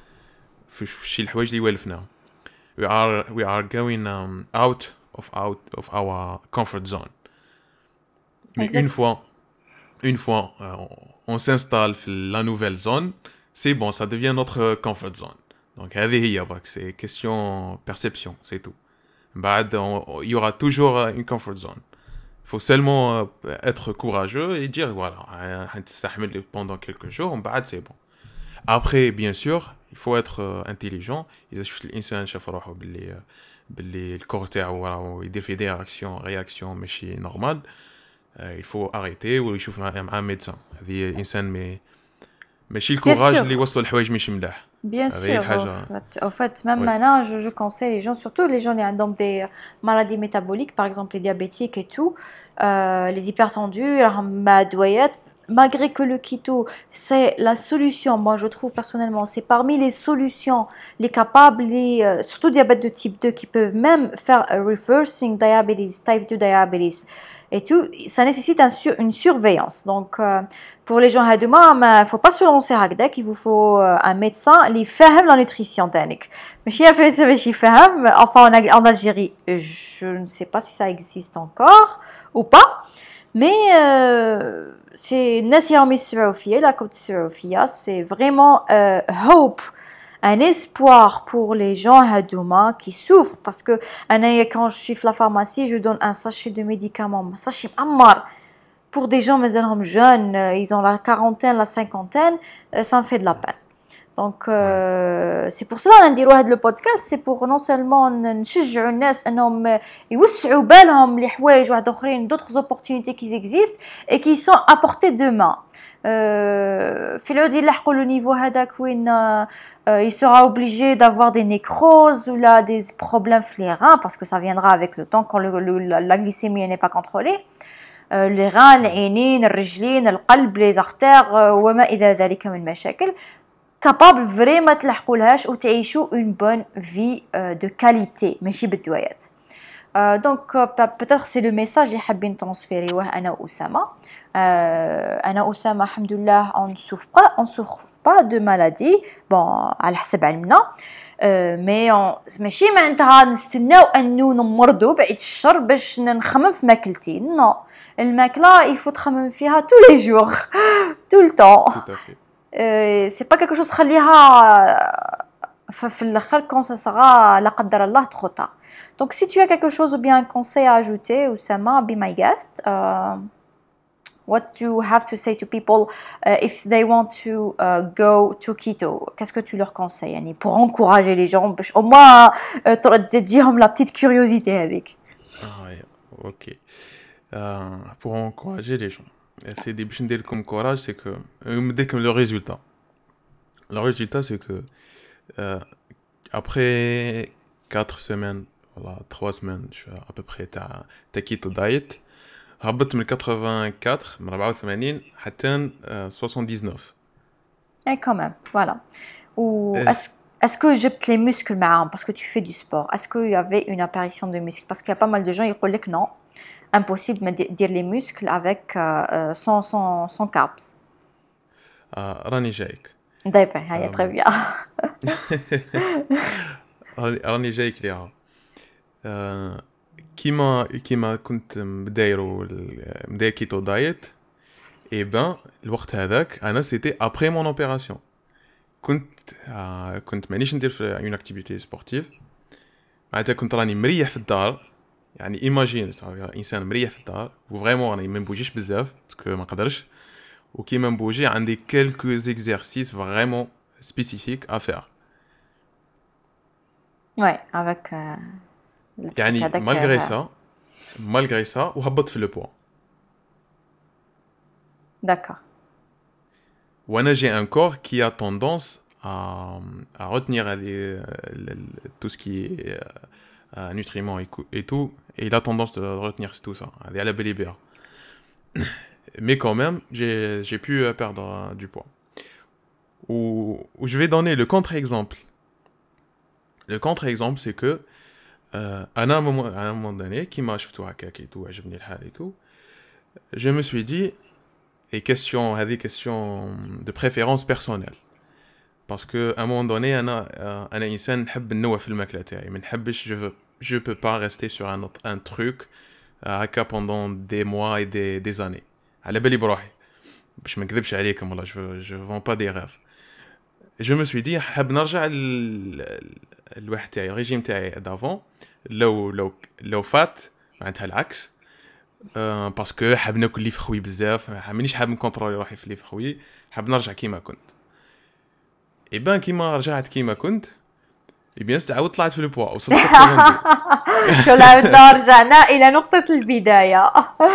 في شي الحوايج اللي والفناهم. we are we are going um, out of out of our comfort zone. Mais une Exact. fois une fois euh, on, on s'installe dans la nouvelle zone, c'est bon, ça devient notre comfort zone. Donc هذه هي برك, c'est question perception, c'est tout. بعد on- il y aura toujours euh, une comfort zone. Il faut seulement euh, être courageux et dire voilà, حنتستحمل pendant quelques jours, بعد c'est bon. Après, bien sûr, il faut être euh, intelligent. إذا شفت الإنسان شاف روحه باللي باللي الكور تاعو راهو يدير في دي رياكسيون رياكسيون ماشي نورمال, il faut arrêter ويشوف مع مع ميدسان. هذه الإنسان مي ماشي Bien الكوراج sûr. اللي وصلوا لحوايج مش ملاح. Bien هذه هي sûr, au الحاجة. fait, au fait, même Oui, maintenant, je, je conseille les gens, surtout les gens qui ont des maladies métaboliques, par exemple les diabétiques et tout, euh, les hypertendus, la madouayette, malgré que le keto, c'est la solution, moi je trouve personnellement, c'est parmi les solutions, les capables, les, euh, surtout diabète de type deux, qui peuvent même faire un reversing diabetes, type deux diabetes et tout, ça nécessite un sur- une surveillance. Donc, euh, pour les gens à demain, il ne faut pas se lancer à Gdak, il vous faut euh, un médecin qui fait la nutrition. Mais si il fait, enfin en, Ag- en Algérie, je ne sais pas si ça existe encore ou pas, mais euh, c'est Nassia Misraoufia, la côte Misraoufia, c'est vraiment euh, hope, un espoir pour les gens à demain qui souffrent, parce que أنا quand je suis à la pharmacie, je donne un sachet de médicaments, un sachet ammar. Pour des gens مازالهم jeunes, euh, ils ont la quarantaine, la cinquantaine, euh, ça me fait de la peine. Donc euh, c'est pour cela نديروا هذا le podcast, c'est pour non seulement نشجعوا الناس انهم يوسعوا بالهم لحوايج واحد اخرين, d'autres opportunités qui existent et qui sont à portée de main. Euh, في العود يلحقوا le niveau هذاك وين euh, il sera obligé d'avoir des nécroses ou là des problèmes في les reins, parce que ça viendra avec le temps quand le, le, la glycémie n'est pas contrôlée. les reins, العينين, الرجلين, القلب, les artères وما إلى ذلك من مشاكل, capable vraiment تلحقوا لهاش وتعيشوا une bonne vie euh, de qualité ماشي بالدوايات. Euh, donc euh, peut-être c'est le message اللي حابين transférer أنا وأسامة. Euh, أنا وأسامة الحمد لله on ne souffre pas, on souffre pas de maladie, bon على حسب علمنا. Uh, مي ماشي معناتها نستناو انو نمرضوا بعيد الشر باش نخمم في ماكلتي, نو الماكله يفوت تخمم فيها tous les jours tout le temps. tout à fait. uh, c'est pas quelque chose خليها في الاخر quand ça sera لا قدر الله trop tard. Donc si tu as quelque chose ou bien un conseil à ajouter, Oussama, be my guest. uh, What do you have to say to people uh, if they want to uh, go to keto? Qu'est-ce que tu leur conseilles يعني, pour encourager les gens باش au moins uh, تديهم la petite curiosité avec. Ah ouais, ok. Euh, pour encourager les gens, c'est des باش ندير لكم courage, c'est que ندير لكم le résultat. Le résultat c'est que euh, Après quatre semaines, voilà, trois semaines, je suis à peu près تاع تاع كيتو دايت. هبطت من quatre-vingt-quatre من أربعة وثمانين حتى آه، soixante-dix-neuf. اي كمان فوالا. و إيه. est-ce est-ce que جبت les muscles معاهم parce que tu fais du sport? Est-ce qu'il y avait une apparition de muscles? Parce qu'il y a pas mal de gens يقول لك non, impossible de dire les muscles avec euh, euh, sans sans sans carbs. آه، راني جايك. دايما هيا très bien. راني راني جايك ليها. آه، كيما كيما كنت مدايرو ال- مداير كيتو دايت. اي بان الوقت هذاك انا سيتي ابري مون اوبيراسيون. كنت آه كنت مانيش ندير في اون اكتيفيتي سبورتيف. معناتها كنت راني مريح في الدار. يعني ايماجين انسان مريح في الدار وفريمون راني ما نبوجيش بزاف باسكو ما نقدرش. وكيما نبوجي عندي كيلكو زيكزارسيس فريمون سبيسيفيك ا فير. Ouais, avec euh, le truc يعني هذاك. مالغري euh, سا مالغري سا وهبط في لو بوا. D'accord. وانا j'ai un corps qui a tendance à, à retenir les, le- le- tout ce qui est euh, euh, nutriments et, cou- et tout, et il a tendance de retenir tout ça, à la belle bière. Mais quand même, j'ai j'ai pu euh, perdre euh, du poids. Ou, ou je vais donner le contre-exemple. Le contre-exemple, c'est que euh, à un moment, à un moment donné, qui m'a acheté à et tout, عجبني الحال et tout, je me suis dit, et question, des questions de préférence personnelle. Parce que à un moment donné انا انا انسان نحب ننوع في الماكله تاعي ما نحبش je veux je peux pas rester sur un autre un truc هكا pendant des mois et des des années على بالي بروحي باش ما نكذبش عليكم والله je je vends pas des rêves. je me suis dit حاب نرجع ل- الواحد تاعي الريجيم تاعي دافون لو لو لو فات معناتها العكس. أه باسكو حاب ناكل لي فخوي بزاف مانيش حاب نكونترولي روحي في لي فخوي حاب نرجع كيما كنت. اي بان كيما رجعت كيما كنت اي بيان عاود طلعت في البوا وصلت ثمانين. كلنا رجعنا إلى نقطة البداية.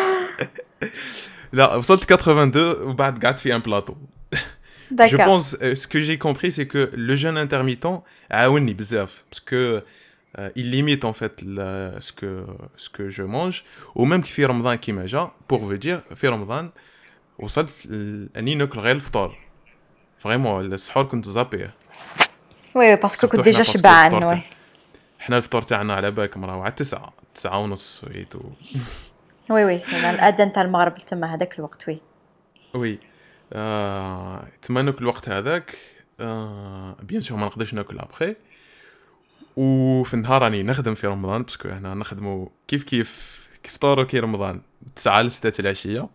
لا وصلت ثمانين وبعد قعدت في ان بلاطو. Je D'accord. pense euh, ce que j'ai compris c'est que le jeûne intermittent عاوني بزاف parce que euh, il limite en fait la, ce que ce que je mange ou même في رمضان كيما جا pour vous dire في رمضان وصلت ل- اني ناكل غير الفطور فريمون السحور كنت زابيه. Oui, parce que سورتو كنت حنا déjà باسكو شبعان. الفطور Oui. تاع حنا الفطور تاعنا على بالكم راهو على تسعة تسعة ونص ويتو. Oui, oui, c'est الأذان تاع المغرب تما هذاك الوقت. Oui. وي آه، تما ناكل الوقت هذاك آه، بيان سور ما نقدرش ناكل ابخي. وفي النهار راني نخدم في رمضان باسكو هنا نخدمو كيف كيف كيف فطور كي رمضان تسعة لستة العشية.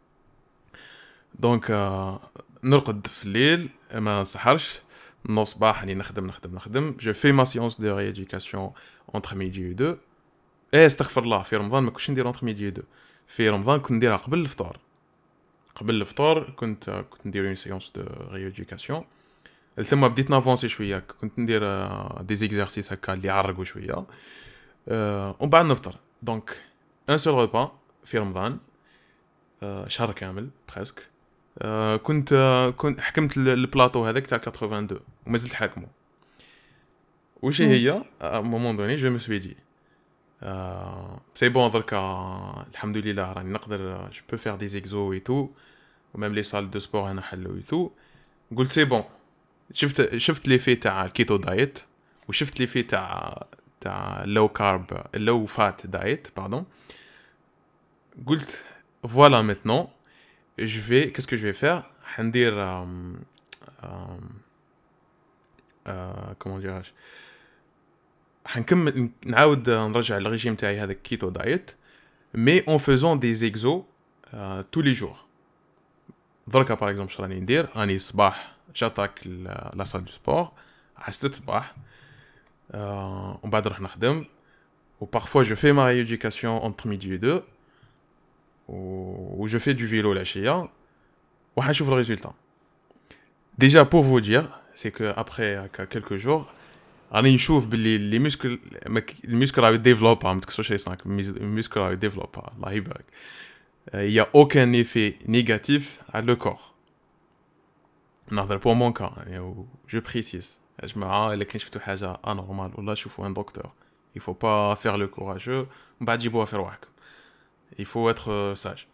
دونك آه، نرقد في الليل ما نسحرش نوض صباح راني نخدم نخدم نخدم جو في ما سيونس دو ريديوكاسيون اونتر ميدي و دو. ايه استغفر الله في رمضان ما كنتش ندير اونتر ميدي و دو في رمضان كنت نديرها قبل الفطور. قبل الفطور كنت كنت ندير اون سيونس دو ريديوكاسيون. ثم بديت نافونسي شويه كنت ندير دي زيكزارسيس هكا اللي يعرقوا شويه أه ومن بعد نفطر. دونك ان سول ريبا في رمضان أه شهر كامل بريسك. أه كنت أه كنت حكمت ال- البلاطو هذاك تاع اثنين وثمانين ومازلت حاكمه. وش هي ا مومون دوني جو مي سوي دي أه سي بون دركا الحمد لله راني نقدر جو بو فير دي زيكزو اي تو وميم لي سال دو سبور هنا حلو اي تو. قلت سي بون شفت شفت لي في تاع الكيتو دايت وشفت لي في تاع تاع لو كارب لو فات دايت باردون. قلت فوالا ميتنون جو في كيس كو جو في فير حندير كومون ديراج حنكمل نعاود نرجع الريجيم تاعي هذا الكيتو دايت مي اون فيزون دي زيكزو تو لي جور. دركا باغ اكزومبل راني ندير راني الصباح جاتاك لا سال دو سبور حسيت الصباح أه ومن بعد نروح نخدم و parfois je fais ma rééducation entre midi et deux و je fais du vélo العشية وحنشوف le résultat. Déjà pour vous dire c'est que après quelques jours راني نشوف باللي لي مسكل المسكل راهو ديفلوب ما تكسرش يصنعك المسكل راهو ديفلوب الله يبارك. il y a aucun effet négatif à le corps. نهضر pour mon cas je précise يا جماعه الا كاين شفتوا حاجه انورمال ولا شوفوا ان دكتور. il faut pas faire le courageux ومن بعد جيبوها في رواحكم. il faut être sage.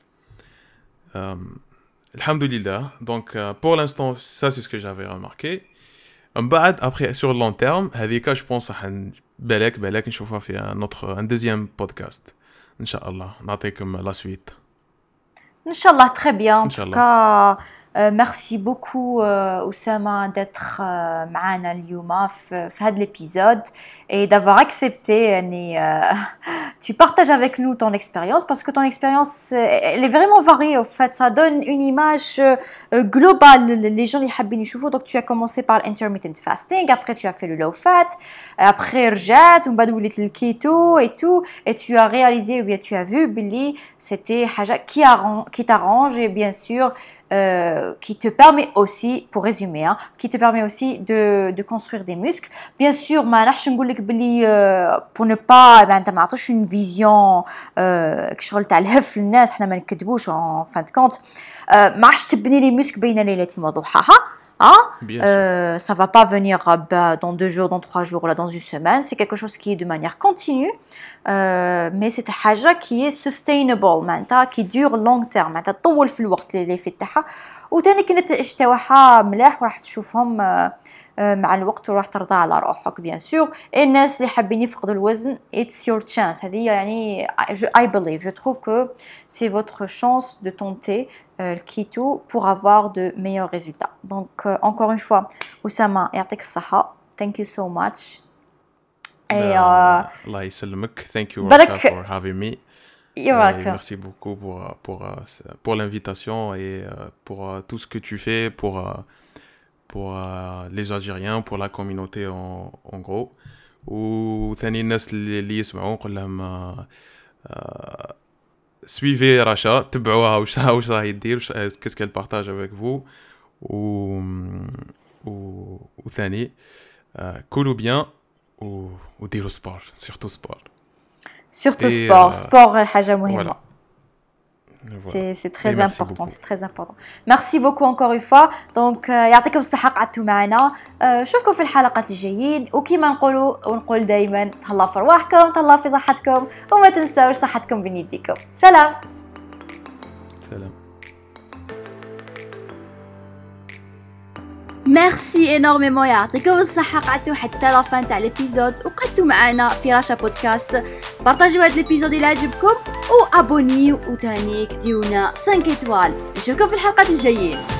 euh, alhamdoulilah. Donc euh, pour l'instant ça c'est ce que j'avais remarqué. من بعد après sur le long terme هذيك je pense راح بالك بالك نشوفها في un autre un deuxième podcast ان شاء الله. نعطيكم la suite. Inch'Allah, très bien. En tout Inch'Allah. cas, euh, merci beaucoup euh, Oussama d'être euh, معنا اليوم في في هذا l'épisode et d'avoir accepté يعني euh, tu partages avec nous ton expérience parce que ton expérience euh, elle est vraiment variée au fait, ça donne une image euh, globale les gens اللي حابين يشوفوا. Donc tu as commencé par l'intermittent fasting, après tu as fait le low fat, après رجعت ومن بعد وليت الكيتو et tout et tu as réalisé ou bien tu as vu بلي c'était حاجة qui arrange qui t'arrange et bien sûr Euh, qui te permet aussi, pour résumer, hein, qui te permet aussi de, de construire des muscles. Bien sûr, ما نحش نقولك بلي euh, pour ne pas ben انت ما عطوش une vision euh, كشغل تاع الهف للناس حنا ما نكذبوش en fin de compte. euh, ما عادش تبني لي muscles بين ليلة وضحاها. Hein? Euh, ça va pas venir bah, dans deux jours, dans trois jours, là, dans une semaine. C'est quelque chose qui est de manière continue, euh, mais c'est une chose qui est sustainable, qui dure long terme. معناتها تطول في الوقت اللي في تاعها وثاني كي النتائج تاعها ملاح وراح تشوفهم مع الوقت وراح ترضى على روحك bien sûr. الناس اللي حابين يفقدوا الوزن it's your chance. هذه يعني I believe, je trouve que c'est votre chance de tenter le keto pour avoir de meilleurs résultats. Donc euh, encore une fois Oussama يعطيك الصحة, thank you so much. Et euh, Allah يسلمك. Thank you Rasha for having me. You're welcome. Merci beaucoup pour pour pour l'invitation et pour tout ce que tu fais pour pour les Algériens, pour la communauté en en gros. وثاني الناس اللي يسمعون نقول لهم suivez Rasha, تبعوها واش واش راهي دير, qu'est-ce qu'elle partage avec vous. و و وثاني كلوا bien و وديروا sport, surtout sport. Surtout Et sport, euh, sport حاجة مهمة. Voilà. Voilà. C'est, c'est très Et important, c'est très important. Merci beaucoup encore une fois. Donc يعطيكم الصحة قعدتوا معنا. نشوفكم في الحلقات الجايين وكما نقولوا ونقول دائما تهلاو في رواحكم, تهلاو في صحتكم وما تنساوش صحتكم بين يديكم. سلام. سلام. ميرسي انورميمون يعطيكم الصحة قعدتوا حتى لا فان تاع ليبيزود وقعدتوا معنا في راشا بودكاست. بارطاجيو هذا ليبيزود الى عجبكم وابونيو وتانيك ديونا خمسة ايطوال. نشوفكم في الحلقات الجايين.